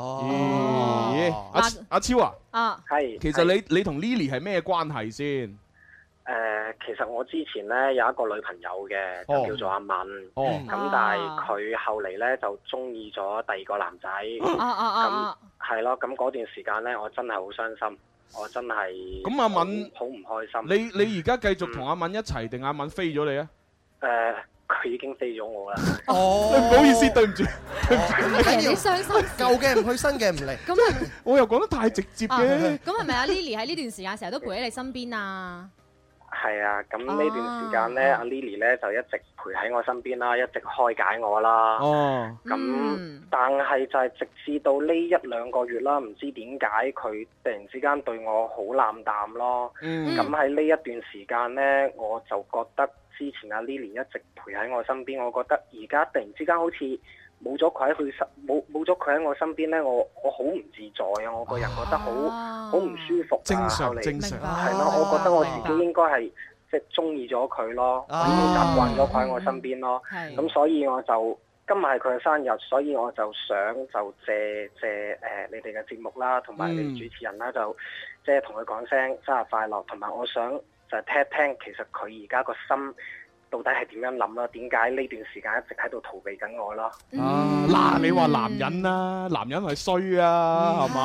阿超啊， 係。 其實你同 Lily 係咩關係先？ 其實我之前咧有一個女朋友嘅，就叫做阿敏。咁但係佢後嚟咧就中意咗第二個男仔。咁係咯，咁嗰段時間咧，我真係好傷心，我真係。咁阿敏好唔開心。 你而家繼續同阿敏一齊定阿敏飛咗你啊？ 佢已經飛咗我啦。 唔好意思，對唔住。 你傷心， 舊嘅唔去，新嘅唔嚟。 咁我又講得太直接嘅。 咁係咪阿 Lily 喺呢段時間成日都陪喺你身邊啊？ 係啊，咁呢段時間咧，阿 Lily 咧就一直陪喺我身邊啦，一直開解我啦。咁但係就係直至到呢1-2個月啦，唔知點解佢突然之間對我好冷淡咯。咁喺呢一段時間咧，我就覺得之前阿 Lily 一直陪喺我身邊，我覺得而家突然之間好似冇咗佢喺我身邊咧，我好唔自在啊！我個人覺得好唔舒服啊！ 正常係咯，我覺得我自己應該係即係中意咗佢咯，我已經習慣咗佢喺我身邊咯。咁所以我就今日係佢嘅生日，所以我就想就借你哋嘅節目啦，同埋你哋主持人啦，就即係同佢講聲生日快樂，同埋我想就聽一聽其實佢而家個心到底係點樣諗啦？點解呢段時間一直喺度逃避緊我咯？ 嗱，你話男人啦，男人係衰啊，係嘛？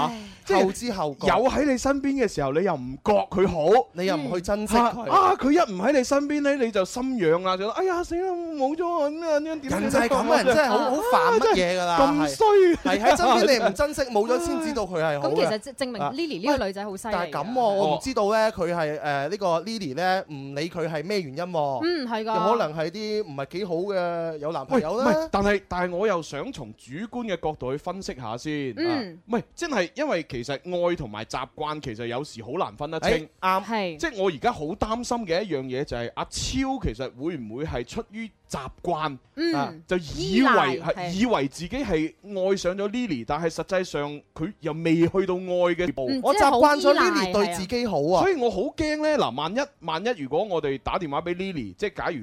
後知後覺， 有喺你身邊嘅時候，你又唔覺佢好， 你又唔去珍惜佢。 佢一唔喺你身邊咧，你就心癢啦，就哎呀死啦，冇咗咁樣點？ 人就係咁嘅，人真係好煩乜嘢㗎啦， 咁衰係喺身邊你唔珍惜，冇咗先知道佢係好嘅。 咁其實證明 Lily 呢個女仔好犀利。 但係咁喎，我唔知道咧，佢係呢個 Lily 咧，唔理佢係咩原因喎。 係㗎。 有可能係啲唔係幾好嘅有男朋友啦。 但係我又想從主觀嘅角度去分析下先。唔係真係，因為其實愛同埋習慣其實有時好難分得清。 啱係。 即係我而家好擔心嘅一樣嘢就係阿超其實會唔會係出於習慣就以為自己係愛上咗 Lily， 但係實際上佢又未去到愛嘅地步。 我習慣咗 Lily 對自己好啊， 所以我好驚呢。嗱，萬一如果我哋打電話俾 Lily， 即係假如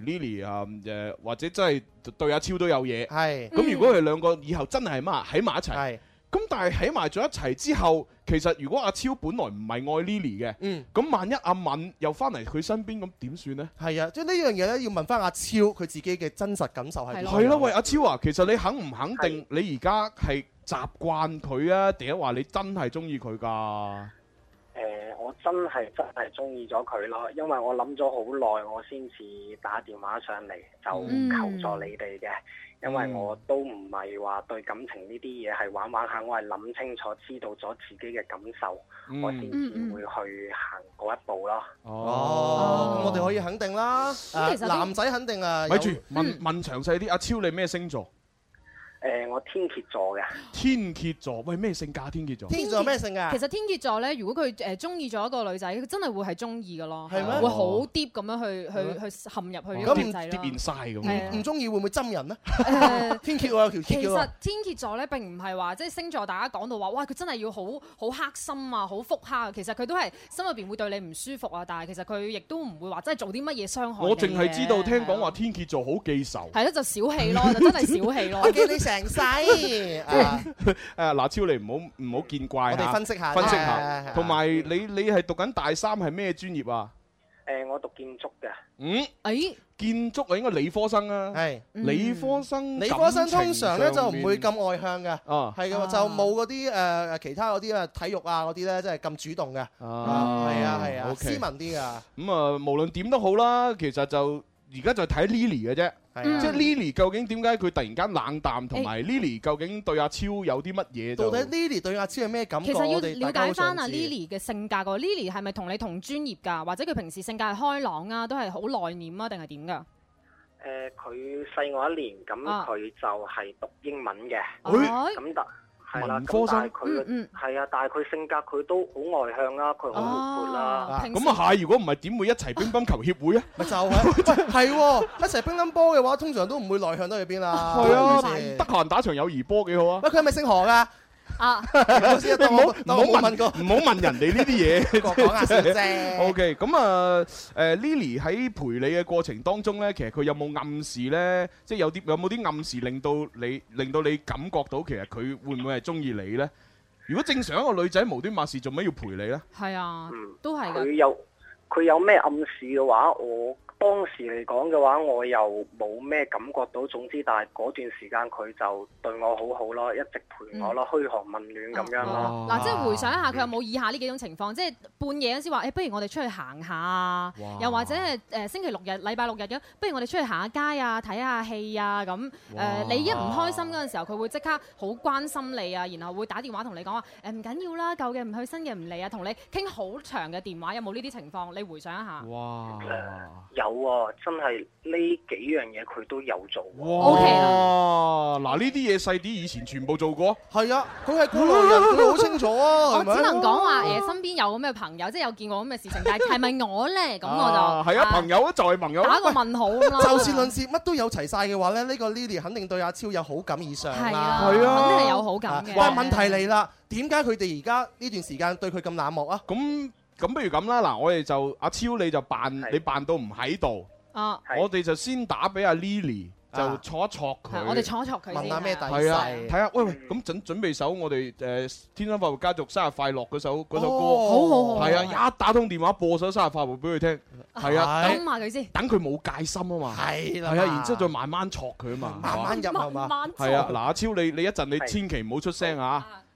Lily 或者真係對阿超都有嘢，咁如果佢兩個以後真係喺埋一齊。咁但係喺埋咗一齊之後，其實如果阿超本來唔係愛 Lily 嘅，咁萬一阿敏又翻嚟佢身邊，咁點算呢？ 係啊，即係呢樣嘢咧，要問翻阿超佢自己嘅真實感受係點？ 係咯，喂，阿超啊，其實你肯唔肯定你而家係習慣佢啊，定係話你真係中意佢㗎？ 我真係中意咗佢咯，因為我諗咗好耐，我先至打電話上嚟就求助你哋嘅。因為我都唔係話對感情呢啲嘢係玩玩下，我係諗清楚，知道咗自己嘅感受，我先至會去行嗰一步咯。 咁我哋可以肯定啦。男仔肯定啊。 咪住問詳細啲，阿超你咩星座？ 我天蠍座嘅。 天蠍座，喂，咩性格？天蠍座。 天蠍座咩性格？ 其實天蠍座咧，如果佢中意咗一個女仔，佢真係會係中意嘅咯， 係咩？ 會好 deep 咁樣去陷入去呢個女仔咯。 咁變晒咁。 唔中意會唔會針人咧？天蠍有條鐵嘅喎。 其實天蠍座咧並唔係話即係星座，大家講到話哇，佢真係要好黑心啊，好腹黑啊。其實佢都係心入邊會對你唔舒服啊，但係其實佢亦都唔會話真係做啲乜嘢傷害你。 我淨係知道聽講話天蠍座好記仇。 係咯，就小氣咯，就真係小氣咯。 我記你成世。 嗱，超你唔好見怪。 我哋分析下， 同埋你係讀緊大三係咩專業啊？ 我讀建築嘅。 建築啊，應該理科生啊。 係理科生。 理科生通常咧就唔會咁外向嘅。係嘅，就冇嗰啲其他嗰啲體育啊嗰啲咧，即係咁主動嘅。係啊，斯文啲噶。咁啊，無論點都好啦，其實就而家就睇 Lily 嘅啫。即係 Lily 究竟點解佢突然間冷淡，同埋 Lily 究竟對阿超有啲乜嘢？到底 Lily 對阿超係咩感覺？ 其實要了解翻阿 Lily 嘅性格個。Lily 係咪同你同專業㗎？或者佢平時性格係開朗啊，都係好內斂啊，定係點㗎？ 佢細我一年，咁佢就係讀英文嘅。咁係啦，咁但係佢係啊，但係佢性格佢都好外向啦，佢好活潑啦。 咁啊係，如果唔係點會一齊乒乓球協會啊？ 咪就係一齊乒乓波嘅話，通常都唔會內向得去邊啦。 係啊，得閒打場友誼波幾好啊！ 喂，佢係咪姓何㗎？ 唔好問人哋呢啲嘢， 講下笑啫。 OK， 咁啊，Lily 喺陪你嘅過程當中咧，其實佢有冇暗示咧？即係有冇啲暗示令到你感覺到其實佢會唔會係中意你咧？如果正常一個女仔無端白事做咩要陪你咧？ 係啊，都係㗎。 佢有咩暗示嘅話，我當時嚟講嘅話，我又冇咩感覺到。總之，但係嗰段時間佢就對我好好咯，一直陪我咯，噓寒問暖咁樣咯。 嗱，即係回想一下，佢有冇以下呢幾種情況？即係半夜嗰時話，不如我哋出去行下啊！又或者係星期六日、禮拜六日嘅，不如我哋出去行下街啊、睇下戲啊咁。你一唔開心嗰陣時候，佢會即刻好關心你啊，然後會打電話同你講話唔緊要啦，舊嘅唔去，新嘅唔嚟啊，同你傾好長嘅電話。有冇呢啲情況？你回想一下。 哇！ 有啊，真係呢幾樣嘢佢都有做。 哇！嗱，呢啲嘢細啲以前全部做過。 係啊，佢係過來人，佢好清楚啊。 我只能講話身邊有咁嘅朋友，即係有見過咁嘅事情，但係係咪我咧？咁我就係啊，朋友就係朋友。 打個問號咁咯。 就事論事，乜都有齊晒嘅話咧，呢個 Lily 肯定對阿超有好感以上啦。 係啊， 肯定係有好感嘅。 但係問題嚟啦，點解佢哋而家呢段時間對佢咁冷漠啊？ 咁不如咁啦，嗱，我哋就阿超你就你扮到唔喺度。我哋就先打俾阿 Lily， 就挫一挫佢。 我哋挫一挫佢， 問下咩底細。 係啊，睇下喂，咁準備首我哋天生快活家族生日快樂嗰首歌。 好。 係啊，一打通電話播首生日快活俾佢聽。係啊， 等下佢先。 等佢冇戒心啊嘛。 係啦。 係啊，然之後再慢慢挫佢啊嘛。 慢慢入係嘛。 係啊，嗱，阿超你一陣你千祈唔好出聲啊。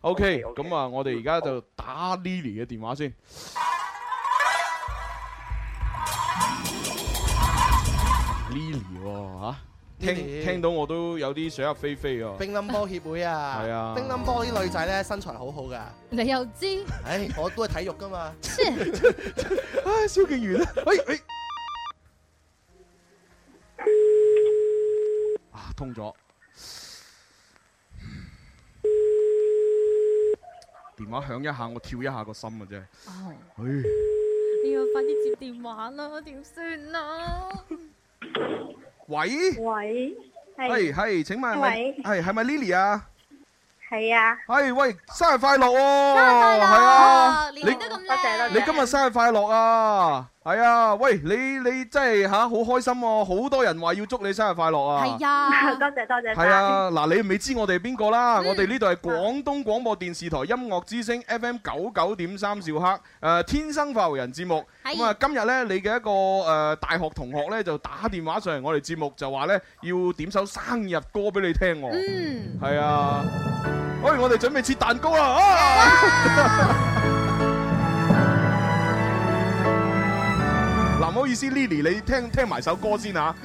OK， 咁啊，我哋而家就打 Lily 嘅電話先。Lily 嚇，聽到我都有啲想入非非啊！ 乒乓波協會啊， 係啊， 乒乓波啲女仔咧身材好好噶。 你又知？ 唉，我都係體育噶嘛。 唉，蕭敬元啊，喂，啊，通咗。電話響一下，我跳一下個心啊！真係。 你要快啲接電話啦，點算啊？ 喂，係，請問係咪 Lily 啊？ 係啊。 係，喂，生日快樂喎！ 生日快樂！ 係啊， 年年都咁靚。 你今日生日快樂啊！係啊，喂，你真係好開心喎！好多人話要祝你生日快樂啊！ 係啊， 多謝。 係啊，嗱，你未知我哋係邊個啦？我哋呢度係廣東廣播電視台音樂之聲 FM 99.3兆赫天生快活人節目。咁啊，今日咧你嘅一個大學同學咧就打電話上嚟我哋節目，就話咧要點首生日歌俾你聽喎。係啊，喂，我哋準備切蛋糕啦！嗱，唔好意思 ，Lily， 你聽埋首歌先嚇。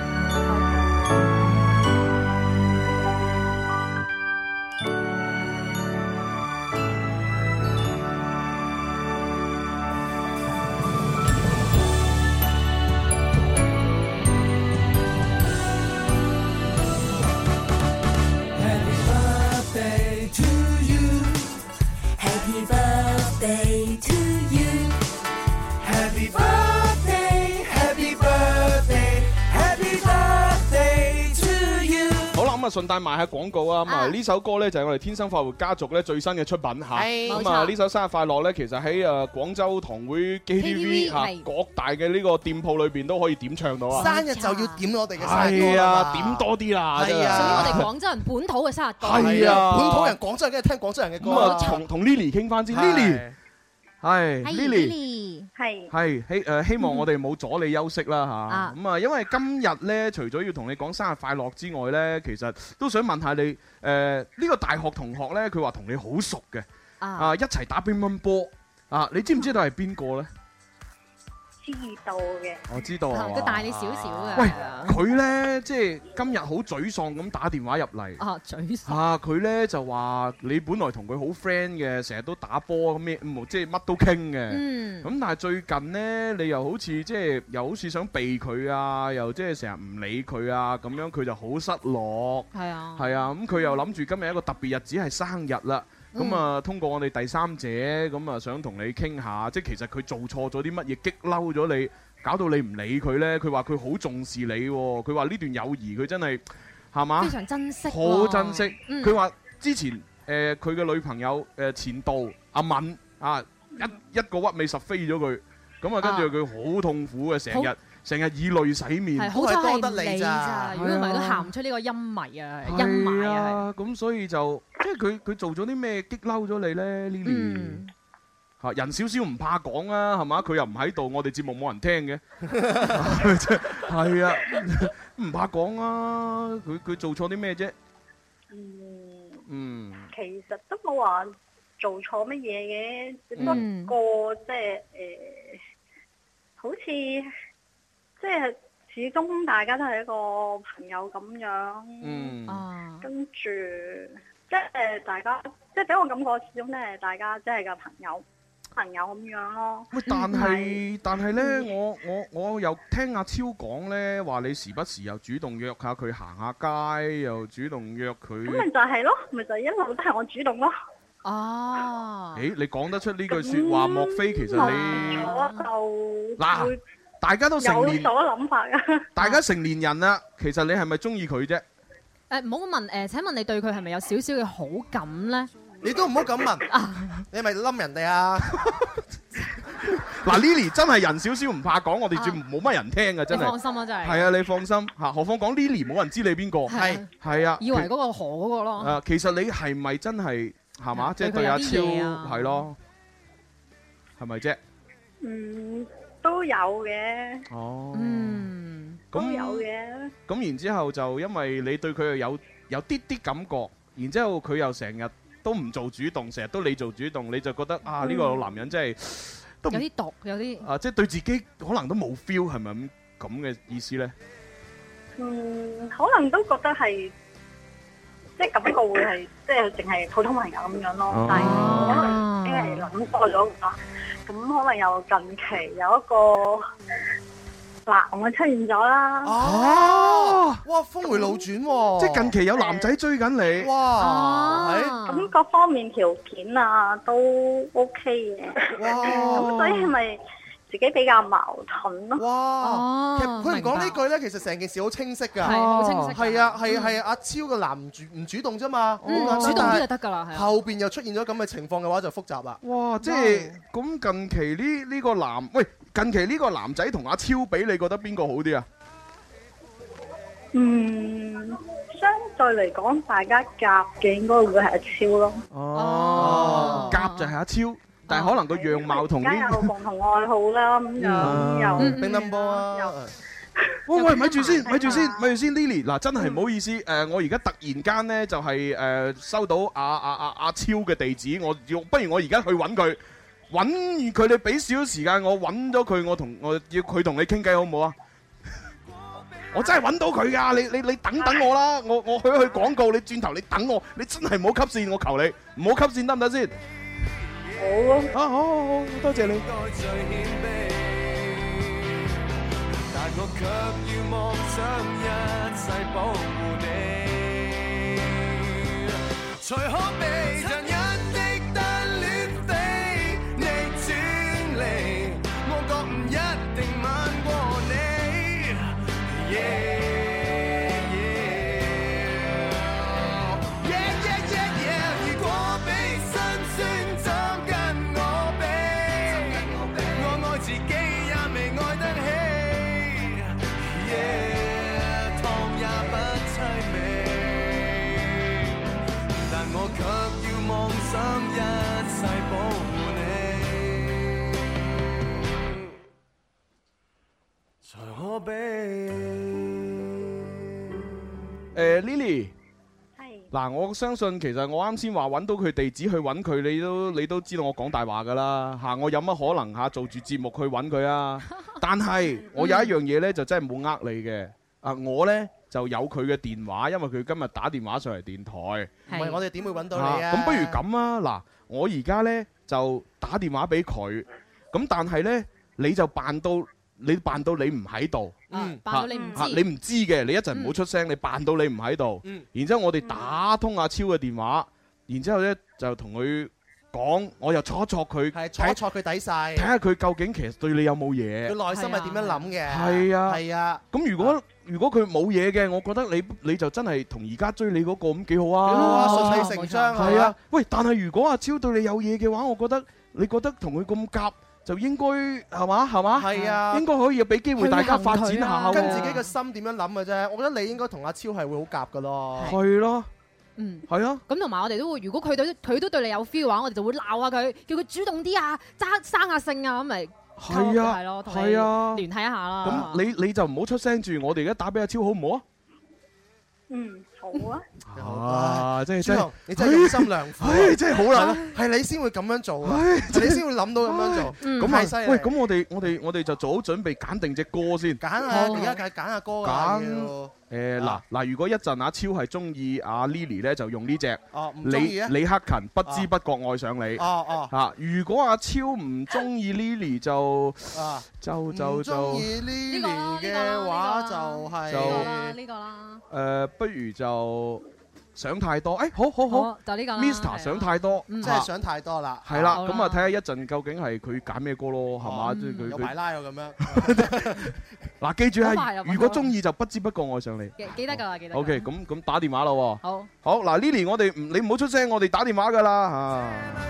順帶賣下廣告啊！咁啊呢首歌咧就係我哋天生快活家族咧最新嘅出品嚇。咁啊呢首生日快樂咧，其實喺廣州堂會 KTV 嚇各大嘅呢個店鋪裏邊都可以點唱到啊！ 生日就要點我哋嘅生日歌。 係啊，點多啲啦！ 係啊，屬於我哋廣州人本土嘅生日歌。 係啊， 本土人廣州人梗係聽廣州人嘅歌。 咁啊，同 Lily 傾翻先 ，Lily 係 Lily 係希望我哋冇阻你休息啦嚇。咁啊，因為今日咧，除咗要同你講生日快樂之外咧，其實都想問下你呢個大學同學咧，佢話同你好熟嘅一齊打乒乓波啊！你知唔知道係邊個咧？ 知道嘅， 我知道啊。 佢大你少少嘅。 喂，佢咧即係今日好沮喪咁打電話入嚟。 沮喪。 佢咧就話你本來同佢好 friend 嘅，成日都打波咁咩，即係乜都傾嘅。咁但係最近咧，你又好似即係又好似想避佢啊，又即係成日唔理佢啊，咁樣佢就好失落。係啊。係啊，咁佢又諗住今日一個特別日子係生日啦。咁啊，通過我哋第三者，咁啊想同你傾下，即係其實佢做錯咗啲乜嘢，激嬲咗你，搞到你唔理佢呢？佢話佢好重視你喎，佢話呢段友誼佢真係係嘛？非常珍惜， 好珍惜。佢話之前佢嘅女朋友前度阿敏啊，一個屈尾十飛咗佢，咁啊跟住佢好痛苦嘅，成日以淚洗面， 係好彩係你咋，如果唔係都行唔出呢個陰霾啊，陰霾啊。 咁所以就即係佢做咗啲咩激嬲咗你咧 ，Lily？嚇人少少唔怕講啊，係嘛？佢又唔喺度，我哋節目冇人聽嘅，係啊，唔怕講啊。佢做錯啲咩啫？ 其實都冇話做錯乜嘢嘅，只不過即係好似。即係始終大家都係一個朋友咁樣，跟住即係大家即係俾我感覺始終都係大家即係個朋友咁樣咯。喂， 但係咧，我又聽阿超講咧，話你時不時又主動約下佢行下街，又主動約佢。咁咪就係咯，咪就係一路都係我主動咯。 你講得出呢句説話，莫非其實你我就嗱？大家都成年， 有所諗法㗎。 大家成年人啦，其實你係咪中意佢啫？ 唔好問請問你對佢係咪有少少嘅好感咧？ 你都唔好咁問，你係咪冧人哋啊？ 嗱 ，Lily 真係人少少唔怕講，我哋仲冇乜人聽㗎，真係。 你放心啊，真係。 係啊，你放心嚇，何況講 Lily 冇人知你邊個。係啊。 以為嗰個何嗰個咯。 其實你係咪真係係嘛？即係對阿超係咯，係咪啫？ 都有嘅。都有嘅。咁然之後就因為你對佢有啲啲感覺，然之後佢又成日都唔做主動，成日都你做主動，你就覺得啊呢個男人真係都有啲毒，有啲啊，即係對自己可能都冇 feel， 係咪咁嘅意思咧？ 可能都覺得係。即係感覺會係，即係淨係普通朋友咁樣咯。但係可能因為諗多咗啊，咁可能又近期有一個男嘅出現咗啦。 哦，哇，峰迴路轉喎！ 即係近期有男仔追緊你。 哇， 咁各方面條件啊都 OK 嘅。哇！咁所以係咪？自己比較矛盾咯。 哇！其實佢唔講呢句咧，其實成件事好清晰㗎。 係好清晰。 係啊，係阿超嘅男唔主動啫嘛。 主動啲就得㗎啦。 後邊又出現咗咁嘅情況嘅話，就複雜啦。 哇！即係咁近期呢個男，喂，近期呢個男仔同阿超比，你覺得邊個好啲啊？ 相對嚟講，大家夾嘅應該會係阿超咯。 哦，夾就係阿超。但係可能個樣貌同啲有共同愛好啦，咁樣又乒乓波啊！ 喂，咪住先，Lily 嗱，真係唔好意思，我而家突然間咧就係收到阿超嘅地址，不如我而家去揾佢，揾佢你俾少少時間我揾咗佢，我要佢同你傾偈好唔好啊？我真係揾到佢㗎，你等等我啦，我去廣告，你轉頭你等我，你真係唔好 cut 線，我求你唔好 cut線得唔得先？好，多謝你。但我卻要妄想一世保護你，才可被殘忍的單戀飛，你轉離，我覺唔一定慢過你。Lily， 嗱，我相信其實我啱先話揾到佢地址去揾佢，你都知道我講大話㗎啦嚇，我有乜可能嚇做住節目去揾佢啊？但係我有一樣嘢呢，就真係冇呃你嘅，我呢就有佢嘅電話，因為佢今日打電話上嚟電台。 唔係我哋點會揾到你啊？ 咁不如咁啊，嗱，我而家呢就打電話俾佢，咁但係呢，你就扮到你唔喺度， 扮到你唔知， 你唔知嘅，你一陣唔好出聲，你扮到你唔喺度，然之後我哋打通阿超嘅電話，然之後呢就同佢講，我又戳一戳佢， 戳一戳佢底細， 睇下佢究竟其實對你有冇嘢， 佢內心係點樣諗嘅？ 係啊，咁如果佢冇嘢嘅，我覺得你就真係同而家追你嗰個咁幾好啊， 順理成章係啊。喂，但係如果阿超對你有嘢嘅話，我覺得你覺得同佢咁夾，就應該係嘛？ 係啊， 應該可以俾機會大家發展下， 跟自己嘅心點樣諗嘅啫。我覺得你應該同阿超係會好夾㗎咯。 係咯。係啊， 咁同埋我哋都會，如果佢都對你有 feel 嘅話，我哋就會鬧下佢，叫佢主動啲啊，生下性啊，咁咪係咯，同你聯繫一下啦。 咁你就唔好出聲住，我哋而家打俾阿超好唔好啊？ 好啊。 真係你真係用心良苦， 真係好啦， 係你先會咁樣做，你先會諗到咁樣做，咁係犀利。 喂，咁我哋就做好準備揀定隻歌先。 揀啊！而家揀下歌㗎。 嗱，如果一陣阿超係中意阿 Lily 咧，就用呢隻。李克勤不知不覺愛上你。如果阿超唔中意 Lily 就唔中意 Lily 嘅話就係呢個啦。 不如就想太多。好， 就呢個啦。 Mr. 想太多， 真係想太多啦。 係啦，咁啊睇下一陣究竟係佢揀咩歌咯，係嘛？即係佢有排拉咁樣。 嗱，記住係，如果中意就不知不覺愛上你。 記得㗎啦，記得。 OK，咁打電話啦喎。 好， 嗱 ，Lily，你唔好出聲，我哋打電話㗎啦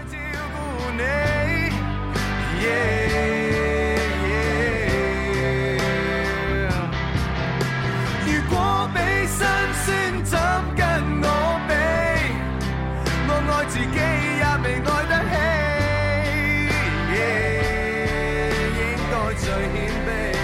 如果俾辛酸怎跟我比，我愛自己也未愛得起，應該最謙卑。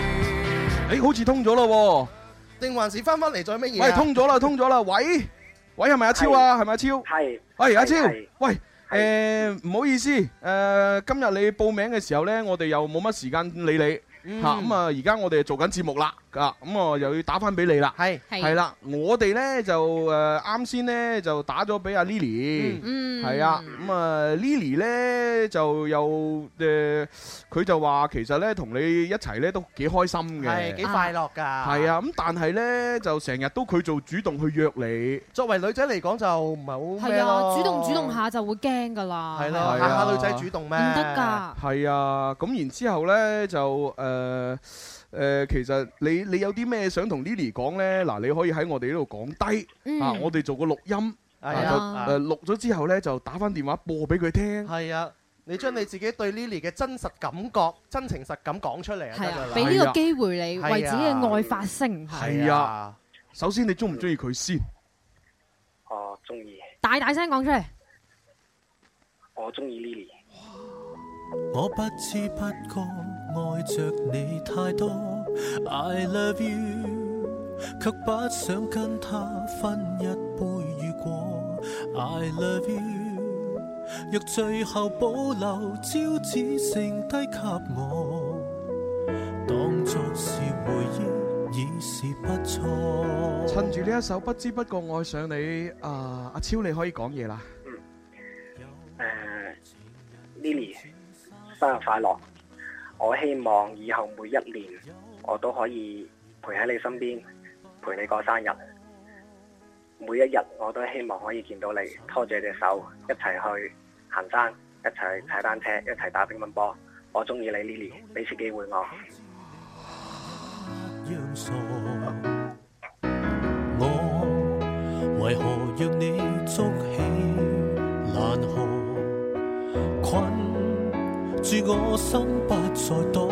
好似通咗咯喎， 定還是翻嚟再乜嘢？ 喂，通咗啦！喂， 喂，係咪阿超啊？係咪阿超？ 係。 喂，阿超，喂。唔好意思，今日你報名嘅時候呢，我哋又冇乜時間理你嚇，咁啊而家我哋做緊節目啦，咁我又要打翻俾你啦，係啦，我哋呢就啱先呢就打咗俾阿 Lily，係啊，咁啊 Lily 呢就又佢就話其實呢同你一齊呢都幾開心嘅， 係幾快樂㗎， 係啊，咁但係呢就成日都佢做主動去約你， 作為女仔嚟講就唔係好咩咯， 係啊，主動下就會驚㗎啦， 係咯，下女仔主動咩？ 唔得㗎， 係啊，咁然之後呢就其實你有啲咩想同 Lily 講呢？嗱，你可以喺我哋呢度講低我哋做個錄音，錄咗之後呢，就打翻電話播俾佢聽。 係啊，你將你自己對 Lily 嘅真實感覺、真情實感講出嚟啊！ 係啊，俾呢個機會你為自己嘅愛發聲。 係啊，首先你中唔中意佢先？ 我中意。 大聲講出嚟。 我中意 Lily。 我不知不覺愛着你太多 I love you 卻不想跟他分一杯雨果 I love you 若最後保留招只剩低給我當作是回憶已是不錯趁住呢一首不知不覺愛上你阿超你可以講嘢啦 Lily生日快樂！我希望以後每一年我都可以陪喺你身邊，陪你過生日。每一日我都希望可以見到你，拖住你隻手一齊去行山，一齊去踩單車，一齊打乒乓波。我中意你 Lily， 俾次機會我。 我為何讓你捉起爛河困住我心不再躲，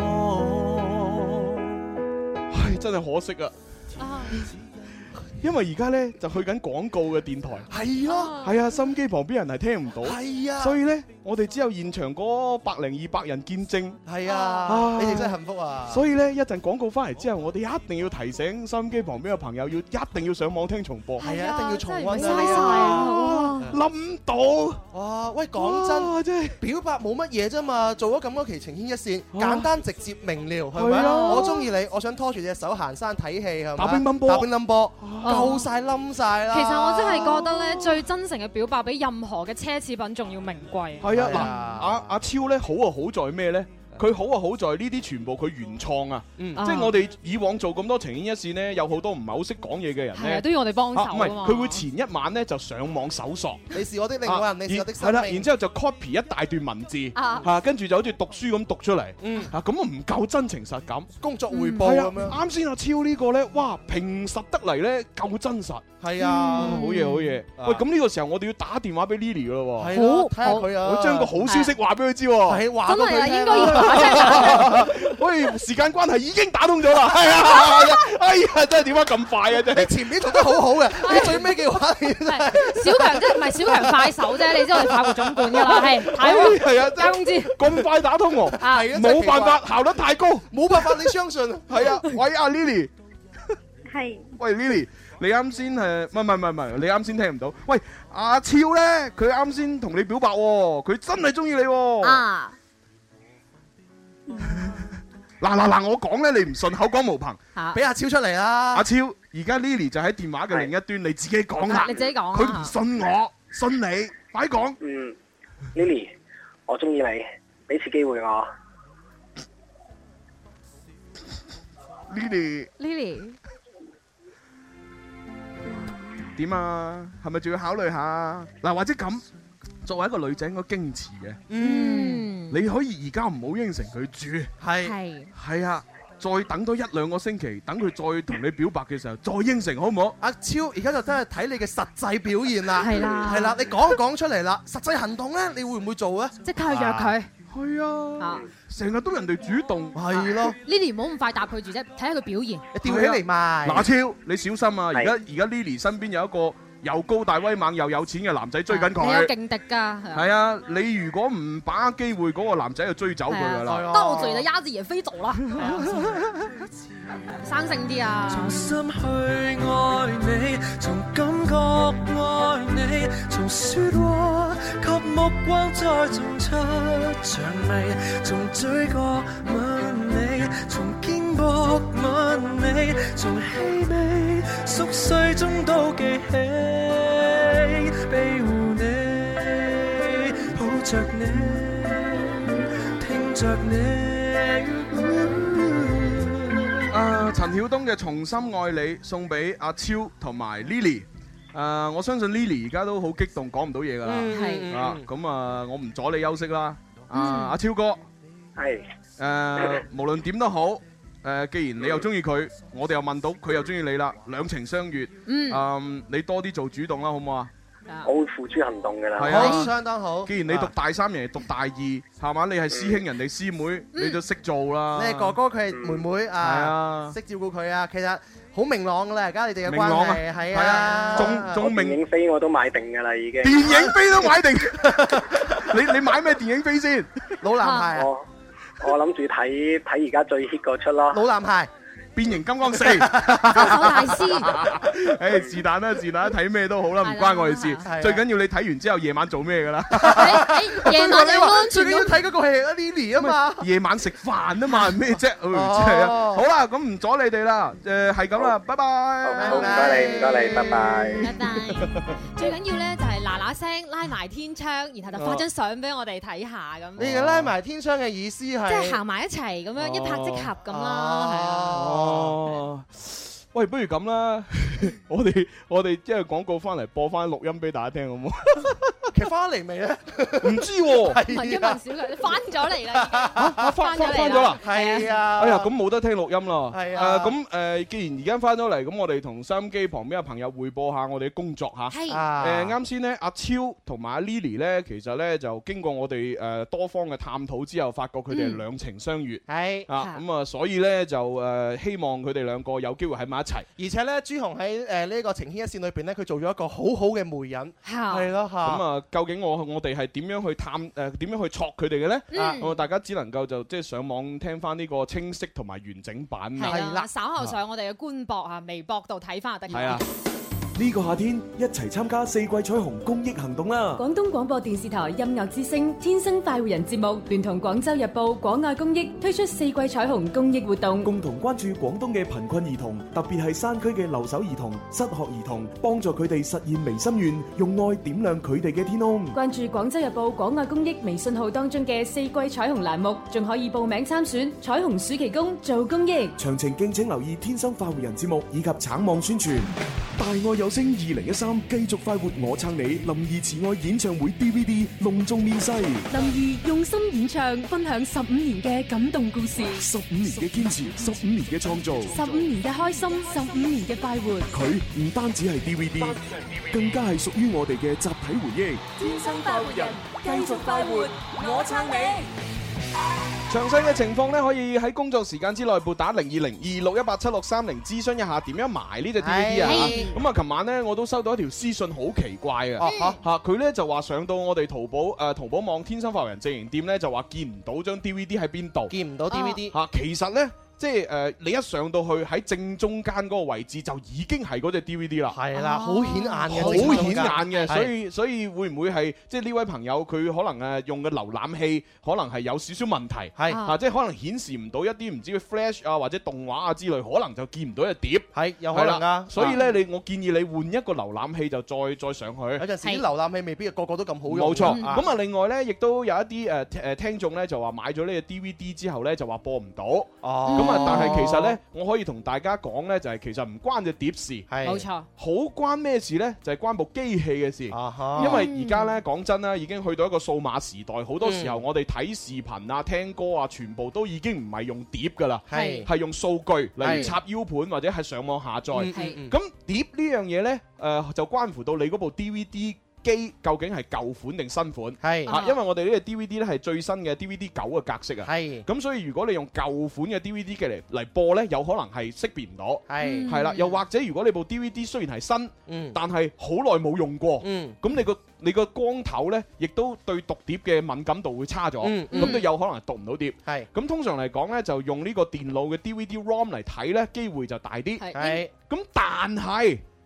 唉，真係可惜啊！因為而家咧就去緊廣告嘅電台， 係咯， 係啊，收音機旁邊人係聽唔到， 係啊， 所以咧我哋只有現場嗰10200人見證， 係啊，你哋真係幸福啊！ 所以咧一陣廣告翻嚟之後，我哋一定要提醒收音機旁邊嘅朋友，一定要上網聽重播， 係啊，一定要重溫嘥晒諗到哇！喂，講真，表白冇乜嘢啫嘛，做咗咁多期情牽一線，簡單直接明了，係咪？我中意你，我想拖住隻手行山睇戲，係咪？ 打乒乓波， 打乒乓波。夠晒冧晒啦！ 其實我真係覺得咧，最真誠嘅表白比任何嘅奢侈品仲要名貴。 係啊，嗱，阿超咧好啊，好在咩咧？佢好啊，好在呢啲全部佢原創啊，即係我哋以往做咁多情牽一線呢，有好多唔係好識講嘢嘅人咧， 都要我哋幫手。 唔係，佢會前一晚咧就上網搜索， 你是我的另外人，你是我的生命。 係啦，然之後就 copy 一大段文字，跟住就好似讀書咁讀出嚟，咁啊唔夠真情實感， 工作匯報咁樣。 啱先阿超呢個咧，哇，平實得嚟咧夠真實， 係啊， 好嘢好嘢。喂，咁呢個時候我哋要打電話俾 Lily 噶咯喎， 好睇下佢啊， 我將個好消息話俾佢知喎， 係話俾佢聽， 應該要打。 喂，時間關係已經打通咗啦，係啊，哎呀，真係點解咁快啊？真係你前面做得好好嘅，你最尾嘅話， 小強即係唔係小強快手啫？你知我哋快活總管噶啦，係太好， 係啊， 加工資咁快打通喎，係啊，冇辦法，效率太高， 冇辦法，你相信係啊？喂，阿 Lily， 係， 喂 Lily， 你啱先係唔係？你啱先聽唔到？喂，阿超咧，佢啱先同你表白喎，佢真係中意你喎。 啊！ 嗱，我講咧，你唔信，口講無憑， 俾阿超出嚟啦。 阿超，而家 Lily 就喺電話嘅另一端，你自己講啦。 你自己講。 佢唔信我，信你，快講。 Lily， 我中意你，俾次機會我。 Lily， 點啊？係咪仲要考慮下？嗱，或者咁。作為一個女仔，應該矜持嘅。你可以而家唔好應承佢住，係啊，再等多1-2個星期，等佢再同你表白嘅時候，再應承好唔好？ 阿超，而家就真係睇你嘅實際表現啦。 係啦， 你講出嚟啦，實際行動咧，你會唔會做咧？ 即刻去約佢。 係啊，成日都人哋主動， 係咯。 Lily 唔好咁快答佢住啫，睇下佢表現。 你吊起嚟賣。 嗱，超，你小心啊！而家 Lily 身邊有一個又高大威猛又有錢嘅男仔追緊佢， 你有勁敵㗎。係啊，你如果唔把握機會，嗰個男仔就追走佢㗎啦。 到嘴就鴨子也飛走啦。生性啲啊！ 重新去愛你，從感覺愛你，從説話及目光再種出薔薇，從嘴角吻你，從肩膊吻你，從氣味熟睡中都記起，庇護你，抱着你，聽着你。 陳曉東嘅《重新愛你》送俾阿超同埋 Lily。我相信 Lily 而家都好激動，講唔到嘢㗎啦。係咁我唔阻你休息啦。阿超哥， 係無論點都好，既然你又中意佢，我哋又問到佢又中意你啦，兩情相悅。你多啲做主動啦，好唔好啊？ 我會付諸行動㗎啦。 係啊， 相當好。 既然你讀大三，人哋讀大二，係嘛？你係師兄，人哋師妹，你就識做啦。 你係哥哥，佢係妹妹啊，識照顧佢啊。其實好明朗㗎啦，而家你哋嘅關係係啊。 仲電影飛我都買定㗎啦，已經。 電影飛都買定。你買咩電影飛先？ 老男孩啊！ 我諗住睇而家最 hit 嗰出咯。 老男孩。 變形金剛4， 手大師。 誒是但啦，睇咩都好啦，唔關我哋事。最緊要你睇完之後夜晚做咩㗎啦？ 夜晚你安全。 最緊要睇嗰個係阿 Lily 啊嘛。 夜晚食飯啊嘛，咩啫？真係啊！好啦，咁唔阻你哋啦。係咁啦，拜拜。 好，唔該你，拜拜。 拜拜。最緊要咧就係嗱聲拉埋天窗，然後就發張相俾我哋睇下咁。 你哋拉埋天窗嘅意思係？ 即係行埋一齊咁樣，一拍即合咁啦，係啊。 喂，不如咁啦，我哋即係廣告翻嚟播翻錄音俾大家聽好唔好？ 其實翻嚟未咧？ 唔知喎。 問一問小強，你翻咗嚟啦？ 翻咗啦？ 係啊。 哎呀，咁冇得聽錄音啦。 係啊。 咁既然而家翻咗嚟，咁我哋同收音機旁邊嘅朋友匯報下我哋嘅工作嚇。 係。 啱先咧，阿超同埋阿 Lily 咧，其實咧就經過我哋多方嘅探討之後，發覺佢哋係兩情相悅。 係。 咁啊，所以咧就希望佢哋兩個有機會喺埋一齊。 而且咧，朱紅喺呢個情牽一線裏邊咧，佢做咗一個好好嘅媒人。係咯嚇。咁啊，究竟我哋係點樣去點樣去戳佢哋嘅咧？大家只能夠就即係上網聽翻呢個清晰同埋完整版。 係啦，稍後上我哋嘅官博啊、微博度睇翻就得。 係啊。 呢個夏天一齊參加四季彩虹公益行動啦！ 廣東廣播電視台音樂之聲天生快活人節目聯同廣州日報廣愛公益推出四季彩虹公益活動， 共同關注廣東嘅貧困兒童，特別係山區嘅留守兒童、失學兒童，幫助佢哋實現微心願，用愛點亮佢哋嘅天空。 關注廣州日報廣愛公益微信號當中嘅四季彩虹欄目，仲可以報名參選彩虹暑期工做公益。 詳情敬請留意天生快活人節目以及橙網宣傳。大愛有聲2013繼續快活我撐你林兒慈愛演唱會 DVD 隆重面世， 林兒用心演唱，分享15年嘅感動故事 ，15年嘅堅持，15年嘅創造 ，15年嘅開心，15年嘅快活。 佢唔單止係 DVD， 更加係屬於我哋嘅集體回憶。 天生快活人，繼續快活，我撐你。 詳細嘅情況咧，可以喺工作時間之內撥打0202618763諮詢一下點樣埋呢隻 DVD 啊！咁啊，琴晚咧我都收到一條私信，好奇怪啊！佢咧就話上到我哋淘寶網天生快活人直營店咧，就話見唔到張 DVD 喺邊度， 見唔到 DVD 其實咧。即係你一上到去喺正中間嗰個位置就已經係嗰隻 DVD 啦， 係啦，好顯眼嘅， 好顯眼嘅，所以會唔會係即係呢位朋友佢可能用嘅瀏覽器可能係有少少問題，係即係可能顯示唔到一啲唔知 Flash 啊或者動畫啊之類，可能就見唔到隻碟， 係有可能㗎。 所以咧我建議你換一個瀏覽器就再上去。有陣時啲瀏覽器未必個個都咁好用。 冇錯。咁啊，另外咧亦都有一啲聽眾咧就話買咗呢隻 DVD 之後咧就話播唔到。咁啊，但係其實咧，我可以同大家講咧，就係其實唔關隻碟事， 係冇錯。 好關咩事咧？就係關部機器嘅事。因為而家咧講真啦，已經去到一個數碼時代，好多時候我哋睇視頻啊、聽歌啊，全部都已經唔係用碟噶啦，係用數據，例如插 U 盤或者係上網下載。咁碟呢樣嘢咧，就關乎到你嗰部 DVD。機究竟係舊款定新款？係因為我哋呢個 DVD 咧係最新嘅 DVD 9嘅格式啊。係咁，所以如果你用舊款嘅 DVD 機嚟播咧，有可能係識別唔到。係啦，又或者如果你部 DVD 雖然係新，但係好耐冇用過，咁你個光頭咧，亦都對讀碟嘅敏感度會差咗，咁都有可能係讀唔到碟。係咁，通常嚟講咧，就用呢個電腦嘅 DVD ROM 嚟睇咧，機會就大啲。係咁，但係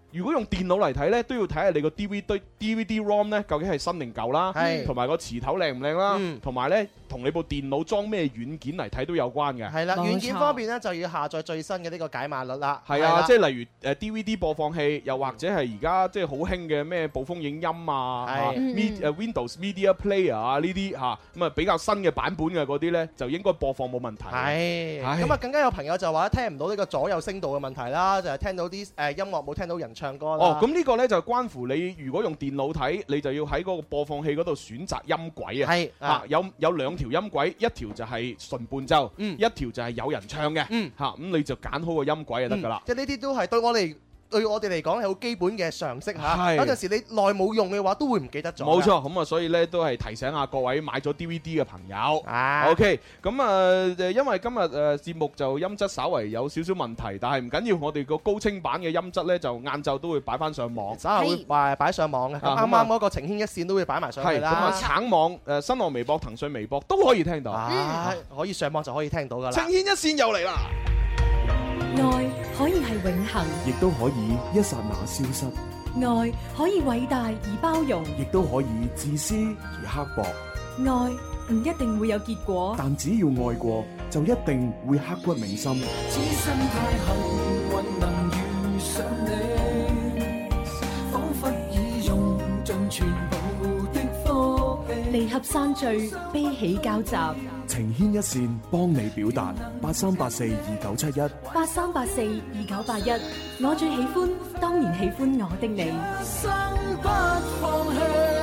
如果用電腦嚟睇咧，都要睇下你個 DVD ROM 咧究竟係新定舊啦，同埋個磁頭靚唔靚啦，同埋咧同你部電腦裝咩軟件嚟睇都有關嘅。 係啦，軟件方面咧就要下載最新嘅呢個解碼率啦。 係啊，即係例如DVD 播放器，又或者係而家即係好興嘅咩暴風影音啊，Windows Media Player 啊呢啲嚇，咁啊比較新嘅版本嘅嗰啲咧就應該播放冇問題。 係，咁啊更加有朋友就話聽唔到呢個左右聲道嘅問題啦，就係聽到啲音樂冇聽到人唱歌啦。 咁呢個咧就關乎你如果用電腦睇，你就要喺嗰個播放器嗰度選擇音軌啊。 係有兩條音軌，一條就係純伴奏，一條就係有人唱嘅。咁你就揀好個音軌就得㗎啦。 即係呢啲都係對我哋嚟講係好基本嘅常識嚇。有陣時你耐冇用嘅話，都會唔記得咗。 冇錯，咁啊，所以咧都係提醒下各位買咗 DVD 嘅朋友。OK，咁因為今日節目就音質稍為有少少問題，但係唔緊要，我哋個高清版嘅音質咧就晏晝都會擺翻上網， 稍後會擺上網嘅。啱啱嗰個情牽一線都會擺埋上去啦。 咁啊，橙網、新浪微博、騰訊微博都可以聽到。 可以上網就可以聽到㗎啦。 情牽一線又嚟啦！ 愛可以係永恆， 亦都可以一剎那消失。 愛可以偉大而包容， 亦都可以自私而刻薄。 愛唔一定會有結果， 但只要愛過，就一定會刻骨銘心。 此生太幸運能遇上你，彷彿已用盡全部的福氣。 離合散聚，悲喜交集。 情牽一線，幫你表達。83842971 83842981，我最喜歡，當然喜歡我的你。 生不放棄。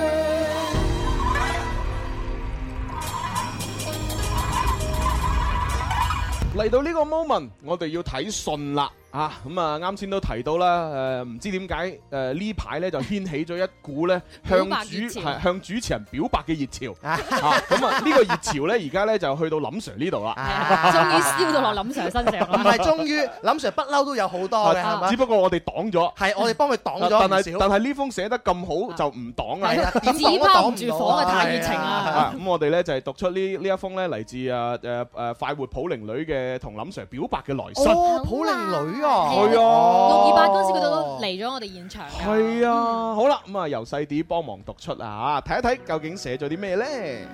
嚟到呢個 moment，我哋要睇信啦。咁啊，啱先都提到啦，唔知點解呢排咧就掀起咗一股咧向主持人表白嘅熱潮。咁啊，呢個熱潮咧而家咧就去到林 Sir 呢度啦。 終於燒到落林 Sir 身上啦。 唔係，終於林 Sir 不嬲都有好多嘅，係咪？ 只不過我哋擋咗。 係，我哋幫佢擋咗唔少。 但係呢封寫得咁好就唔擋啦。 點紙包唔住火嘅太熱情啦。 咁我哋咧就係讀出呢一封咧嚟自快活普寧女嘅同林 Sir 表白嘅來信。 普寧女。 係啊 ，628嗰時佢都嚟咗我哋現場。 係啊，好啦，咁啊由細啲幫忙讀出啊，睇一睇究竟寫咗啲咩咧？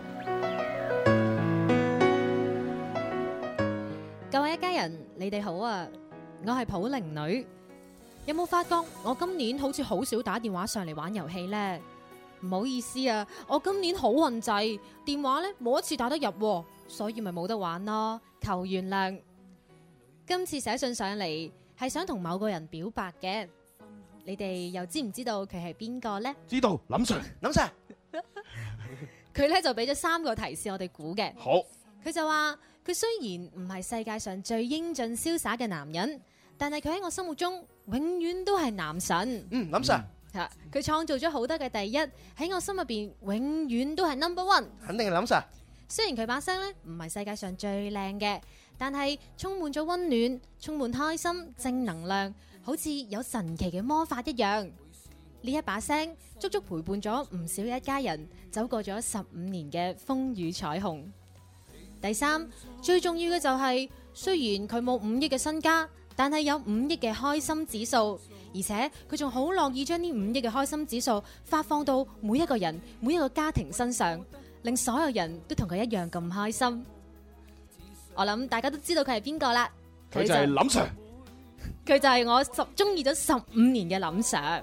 各位一家人，你哋好啊！我係普寧女，有冇發覺我今年好似好少打電話上嚟玩遊戲呢？唔好意思啊，我今年好運滯，電話咧冇一次打得入，所以咪冇得玩咯，求原諒。今次寫信上嚟係想同某個人表白嘅，你哋又知唔知道佢係邊個呢？ 知道，林 Sir，林 Sir， 佢咧就俾咗3個提示我哋估嘅。 好， 佢就話佢雖然唔係世界上最英俊瀟灑嘅男人，但係佢喺我心目中永遠都係男神。 林 Sir， 佢創造咗好多嘅第一，喺我心入邊永遠都係 No.1。 肯定係林 Sir。 雖然佢把聲咧唔係世界上最靚嘅，但係充滿咗溫暖，充滿開心、正能量，好似有神奇嘅魔法一樣。呢一把聲足足陪伴咗唔少一家人走過咗15年嘅風雨彩虹。第3，最重要嘅就係，雖然佢冇5億嘅身家，但係有5億嘅開心指數，而且佢仲好樂意將呢5億嘅開心指數發放到每一個人、每一個家庭身上，令所有人都同佢一樣咁開心。我諗大家都知道佢係邊個啦， 佢就係林 Sir， 佢就係我中意咗15年嘅林 Sir。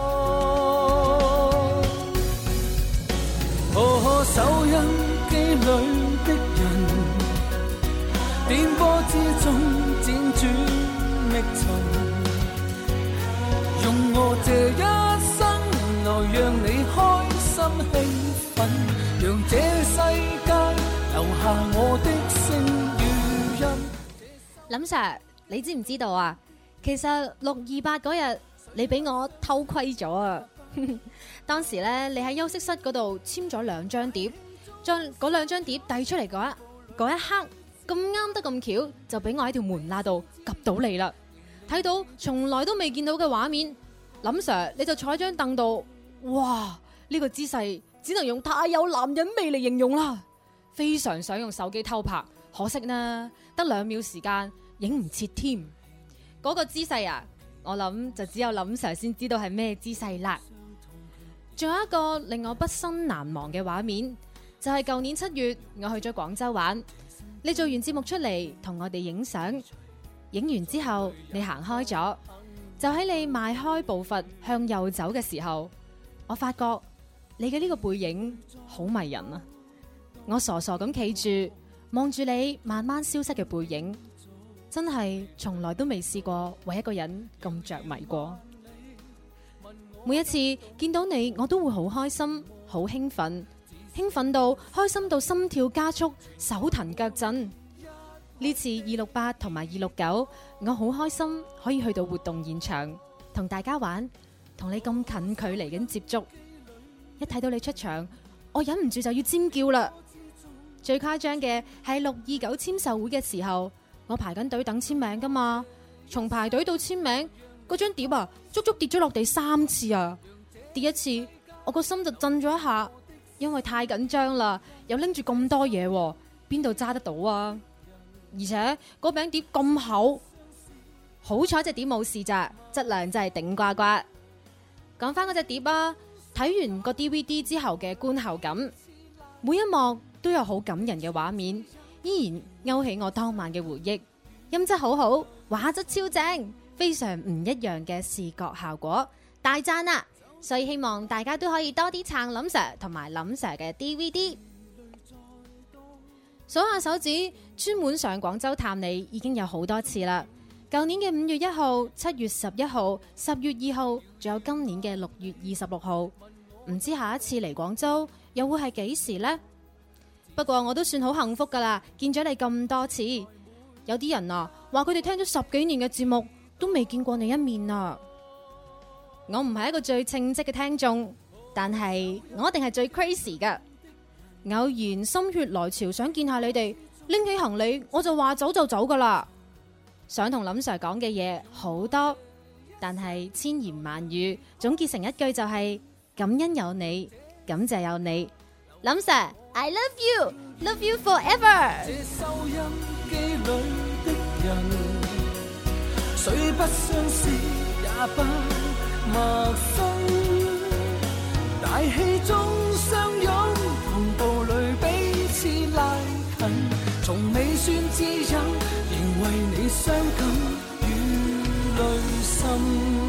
收音機裏的人，電波之中輾轉覓尋，用我這一生來讓你開心興奮，讓這世界留下我的聲與音。 林 Sir， 你知唔知道啊？其實628嗰日你俾我偷窺咗啊！當時咧，你喺休息室嗰度簽咗2張碟，將嗰2張碟遞出嚟嗰一刻，咁啱得咁巧，就俾我喺條門罅度及到你啦。睇到從來都未見到嘅畫面，林 Sir 你就坐喺張凳度，哇！呢個姿勢只能用太有男人味嚟形容啦。非常想用手機偷拍，可惜呢得2秒時間，影唔切添。嗰個姿勢啊！ 我諗就只有林 Sir 先知道係咩姿勢啦。仲有一個令我畢生難忘嘅畫面，就係舊年7月我去咗廣州玩，你做完節目出嚟同我哋影相，影完之後你行開咗，就喺你邁開步伐向右走嘅時候，我發覺你嘅呢個背影好迷人啊！我傻傻咁企住望住你慢慢消失嘅背影，真係從來都未試過為一個人咁着迷過。每一次見到你，我都會好開心、好興奮，興奮到開心到心跳加速、手騰腳震。呢次268同埋269，我好開心可以去到活動現場同大家玩，同你咁近距離咁接觸。一睇到你出場，我忍唔住就要尖叫啦！最誇張嘅係629簽售會嘅時候，我排緊隊等簽名噶嘛，從排隊到簽名嗰張碟啊，足足跌咗落地3次啊！跌一次，我個心就震咗一下，因為太緊張啦，又拎住咁多嘢，邊度揸得到啊？而且嗰餅碟咁厚，好彩隻碟冇事咋，質量真係頂呱呱。講翻嗰隻碟啊，睇完個 DVD 之後嘅觀後感，每一幕都有好感人嘅畫面，依然勾起我當晚嘅回憶。音質好好，畫質超正，非常唔一樣嘅視覺效果，大讚啊！所以希望大家都可以多啲撐林 Sir 同埋林 Sir 嘅 DVD。數下手指，專門上廣州探你已經有好多次啦。舊年嘅5月1號、7月11號、10月2號，仲有今年嘅6月26號，唔知下一次嚟廣州又會係幾時呢？不過我都算好幸福噶啦，見咗你咁多次。有啲人啊，話佢哋聽咗10幾年嘅節目，都未見過你一面啊！我唔係一個最稱職嘅聽眾，但係我一定係最 crazy 噶。偶然心血來潮想見下你哋，拎起行李我就話走就走噶啦。想同林 Sir 講嘅嘢好多，但係千言萬語總結成一句就係感恩有你，感謝有你。林 Sir I love you, love you forever。 這收音機裏的人，雖不相識也不陌生，大氣中相擁，同步裏彼此拉近，從未算知音，仍為你傷感與淚滲。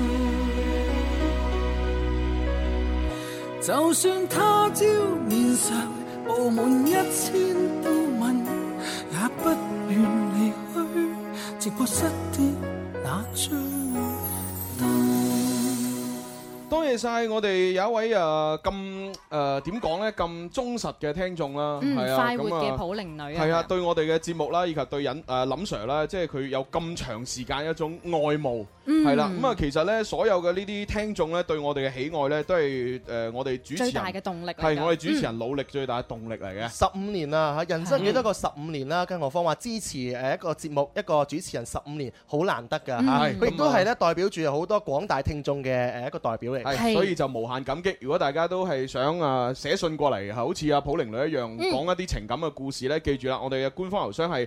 就算他朝面上布滿1000道紋，也不願離去，直播室的那張燈。 多謝晒我哋有一位咁點講咧咁忠實嘅聽眾啦，係啊， 快活嘅普寧女啊， 係啊，對我哋嘅節目啦，以及對林 Sir 啦，即係佢有咁長時間一種愛慕，係啦，咁啊其實咧所有嘅呢啲聽眾咧對我哋嘅喜愛咧都係我哋主持人最大嘅動力， 係我哋主持人努力最大嘅動力嚟嘅。 15年啦嚇，人生幾多個15年啦，更何況話支持一個節目一個主持人15年，好難得㗎嚇，佢亦都係咧代表住好多廣大聽眾嘅一個代表嚟。 係，所以就無限感激。如果大家都係想寫信過嚟，好似阿普寧女一樣講一啲情感嘅故事咧，記住啦，我哋嘅官方郵箱係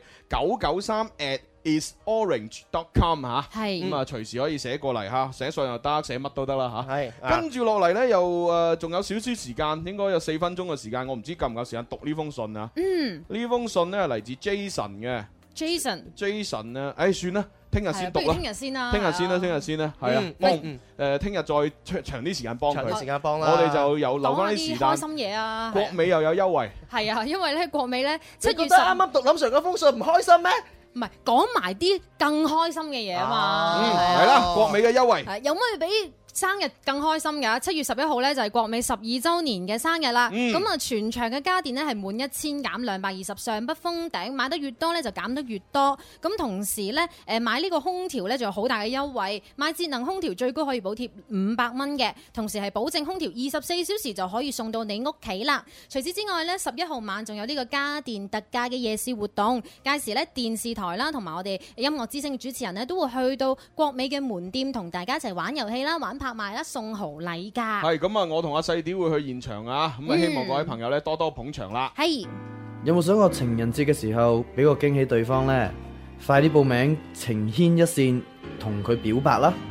993@isorange.com 嚇，咁啊隨時可以寫過嚟嚇，寫信又得，寫乜都得啦嚇。係，跟住落嚟咧又仲有少少時間，應該有4分鐘嘅時間，我唔知夠唔夠時間讀呢封信啊。呢封信咧係嚟自 Jason 嘅。Jason 咧，算啦。聽日先讀啦，聽日先啦，係啊，聽日再長啲時間幫佢，我哋就有留翻啲時間。開心嘢啊！國美又有優惠，係啊，因為咧國美咧7月10，你覺得啱啱讀林 Sir 嗰封信唔開心咩？唔係講埋啲更開心嘅嘢啊嘛， 係啦，國美嘅優惠有乜比生日更開心㗎？7月11號咧就係國美12週年嘅生日啦。咁啊，全場嘅家電咧係滿1000減220，上不封頂，買得越多咧就減得越多。咁同時咧，買呢個空調咧就有好大嘅優惠，買節能空調最高可以補貼500蚊嘅，同時係保證空調24小時就可以送到你屋企啦。除此之外咧，11號晚仲有呢個家電特價嘅夜市活動，屆時咧電視台啦同埋我哋音樂之聲嘅主持人咧都會去到國美嘅門店同大家一齊玩遊戲啦、玩拍賣啦、送豪禮㗎。係咁啊！我同阿細啲會去現場啊！咁啊，希望各位朋友咧多多捧場啦。係。 有冇想過情人節嘅時候俾個驚喜對方呢？快啲報名情牽一線，同佢表白啦！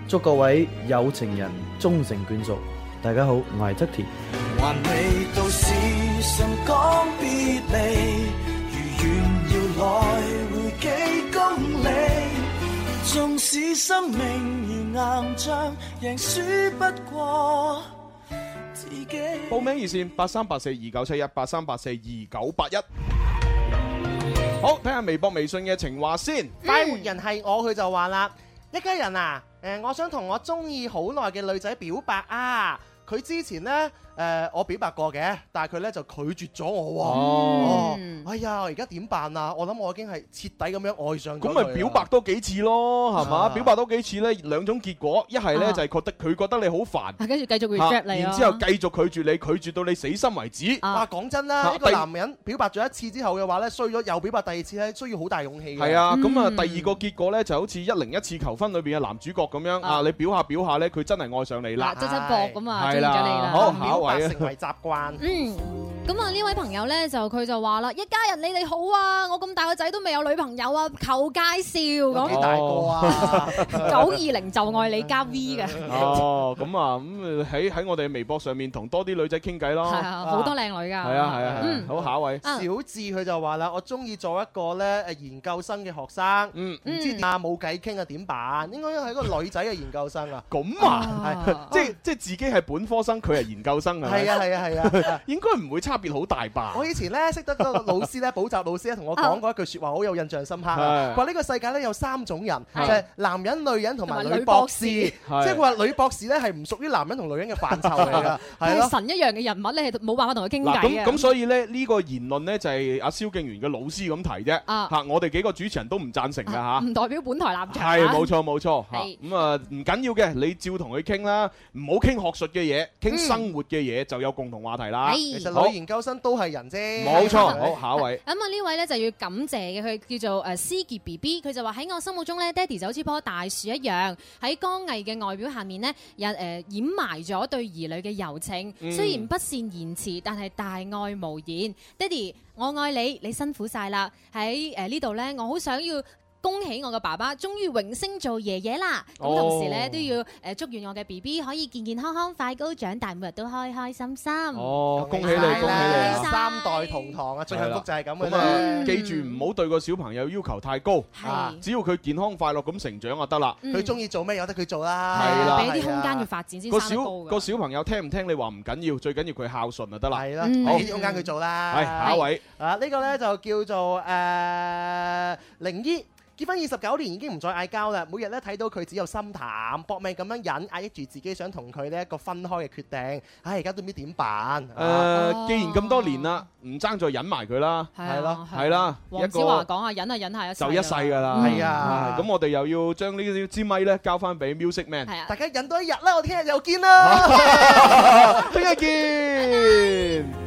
祝各位有情人終成眷屬。大家好，我係側田。 還未到時辰講別離，如願要來回幾公里，縱使生命如硬仗，贏輸不過自己。 報名熱線83842971 83842981。好，睇下微博微信嘅情話先。 快活人係我，佢就話啦，一家人啊，我想同我中意好耐嘅女仔表白啊。佢之前呢，我表白過嘅，但係佢呢就拒絕咗我喎。哎呀，而家點辦啊？我諗我已經係徹底咁樣愛上佢。咁咪表白多幾次咯，係嘛？表白多幾次呢，兩種結果，一係呢就係佢覺得你好煩， 跟住繼續 reject 你， 然之後繼續拒絕你，拒絕到你死心為止。 哇，講真啦，一個男人表白咗一次之後嘅話呢，衰咗又表白第二次呢，需要好大勇氣嘅。 係啊，咁啊，第二個結果呢就好似101次求婚裏邊嘅男主角咁樣啊，你表下表下呢，佢真係愛上你啦， 側側膊咁啊，中意咗你啦。 好，下一位成為習慣。 咁啊呢位朋友咧佢就話啦，一家人你哋好啊，我咁大個仔都未有女朋友啊，求介紹咁。 幾大個啊 ？920就愛你加 V 嘅。 哦，咁啊，咁喺我哋微博上面同多啲女仔傾偈咯。 係啊，好多靚女㗎。 係啊。好，下一位。 小智佢就話啦，我中意做一個咧研究生嘅學生。唔知點啊，冇偈傾啊，點辦？應該係一個女仔嘅研究生啊。 咁啊，係即係自己係本科生，佢係研究生係啊， 應該唔會差別好大吧？ 我以前咧識得個老師咧，補習老師咧，同我講過一句説話，好有印象深刻。佢話呢個世界咧有3種人，就係男人、女人同埋女博士。即係佢話女博士咧係唔屬於男人同女人嘅範疇嚟㗎。 係神一樣嘅人物咧，係冇辦法同佢傾偈嘅。 咁所以咧呢個言論咧就係阿蕭敬元嘅老師咁提啫。嚇，我哋幾個主持人都唔贊成㗎嚇。 唔代表本台立場。 係冇錯嚇。咁啊唔緊要嘅，你照同佢傾啦，唔好傾學術嘅嘢，傾生活嘅嘢就有共同話題啦。 其實女研究生都係人啫。 冇錯，好，下一位。 咁啊呢位咧就要感謝嘅，佢叫做思傑 BB， 佢就話喺我心目中咧，爹哋就好似棵大樹一樣，喺剛毅嘅外表下面呢，掩埋咗對兒女嘅柔情。雖然不善言辭，但係大愛無言。爹哋，我愛你，你辛苦晒啦。喺呢度呢，我好想要恭喜我嘅爸爸終於榮升做爺爺啦！咁同時咧都要祝願我嘅 BB 可以健健康康、快高長大，每日都開開心心。 哦，恭喜你，恭喜你 ！3代同堂啊，最幸福就係咁嘅啫。 記住唔好對個小朋友要求太高，只要佢健康快樂咁成長就得啦。 佢中意做咩由得佢做啦， 係啦， 俾啲空間佢發展先生得高㗎。 個小朋友聽唔聽你話唔緊要，最緊要佢孝順就得啦。 係啦，俾啲空間佢做啦。 係下一位呢個咧就叫做靈醫。結婚29年已經唔再嗌交啦，每日咧睇到佢只有心淡，搏命咁樣忍，壓抑住自己想同佢呢一個分開嘅決定。唉，而家都唔知點辦。 既然咁多年啦，唔爭再忍埋佢啦。 係咯， 係啦。 黃子華講啊，忍啊忍下一世。 就一世㗎啦。 係啊。 咁我哋又要將呢支咪咧交翻俾 Music Man。 係啊。 大家忍多一日啦，我聽日又見啦。 聽日見。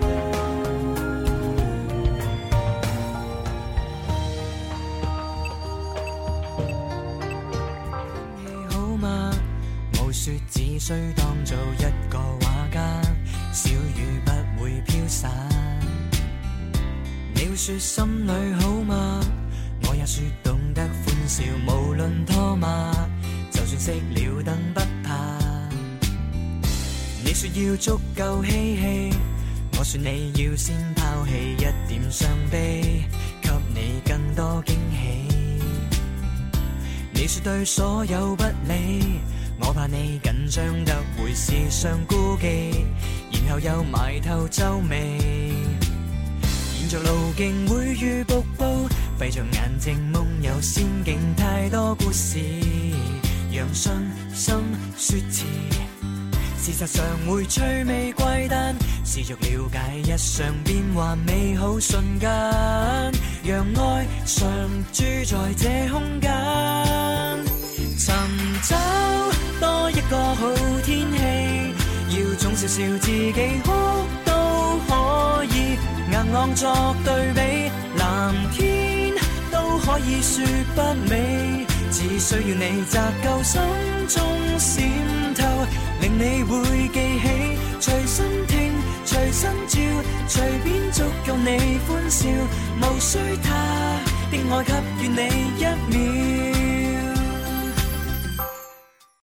說只需當做一個畫家，小雨不會飄散。你會說心裏好嗎？我也說懂得歡笑，無論拖罵，就算熄了燈不怕。你說要足夠嬉戲，我說你要先拋棄一點傷悲，給你更多驚喜。你說對所有不理，我怕你緊張得會時常顧忌，然後又埋頭皺眉。沿着路徑會遇瀑布，閉着眼睛夢遊仙境，太多故事，讓傷心說詞。事實上會趣味怪誕，試着了解日常變幻美好瞬間，讓愛常駐在這空間，尋找多一個好天氣，要總笑笑自己哭都可以，硬朗作對比，藍天都可以說不美，只需要你擇夠心中閃透，令你會記起，隨身聽隨身照，隨便足夠你歡笑，無需他的愛給予你一秒。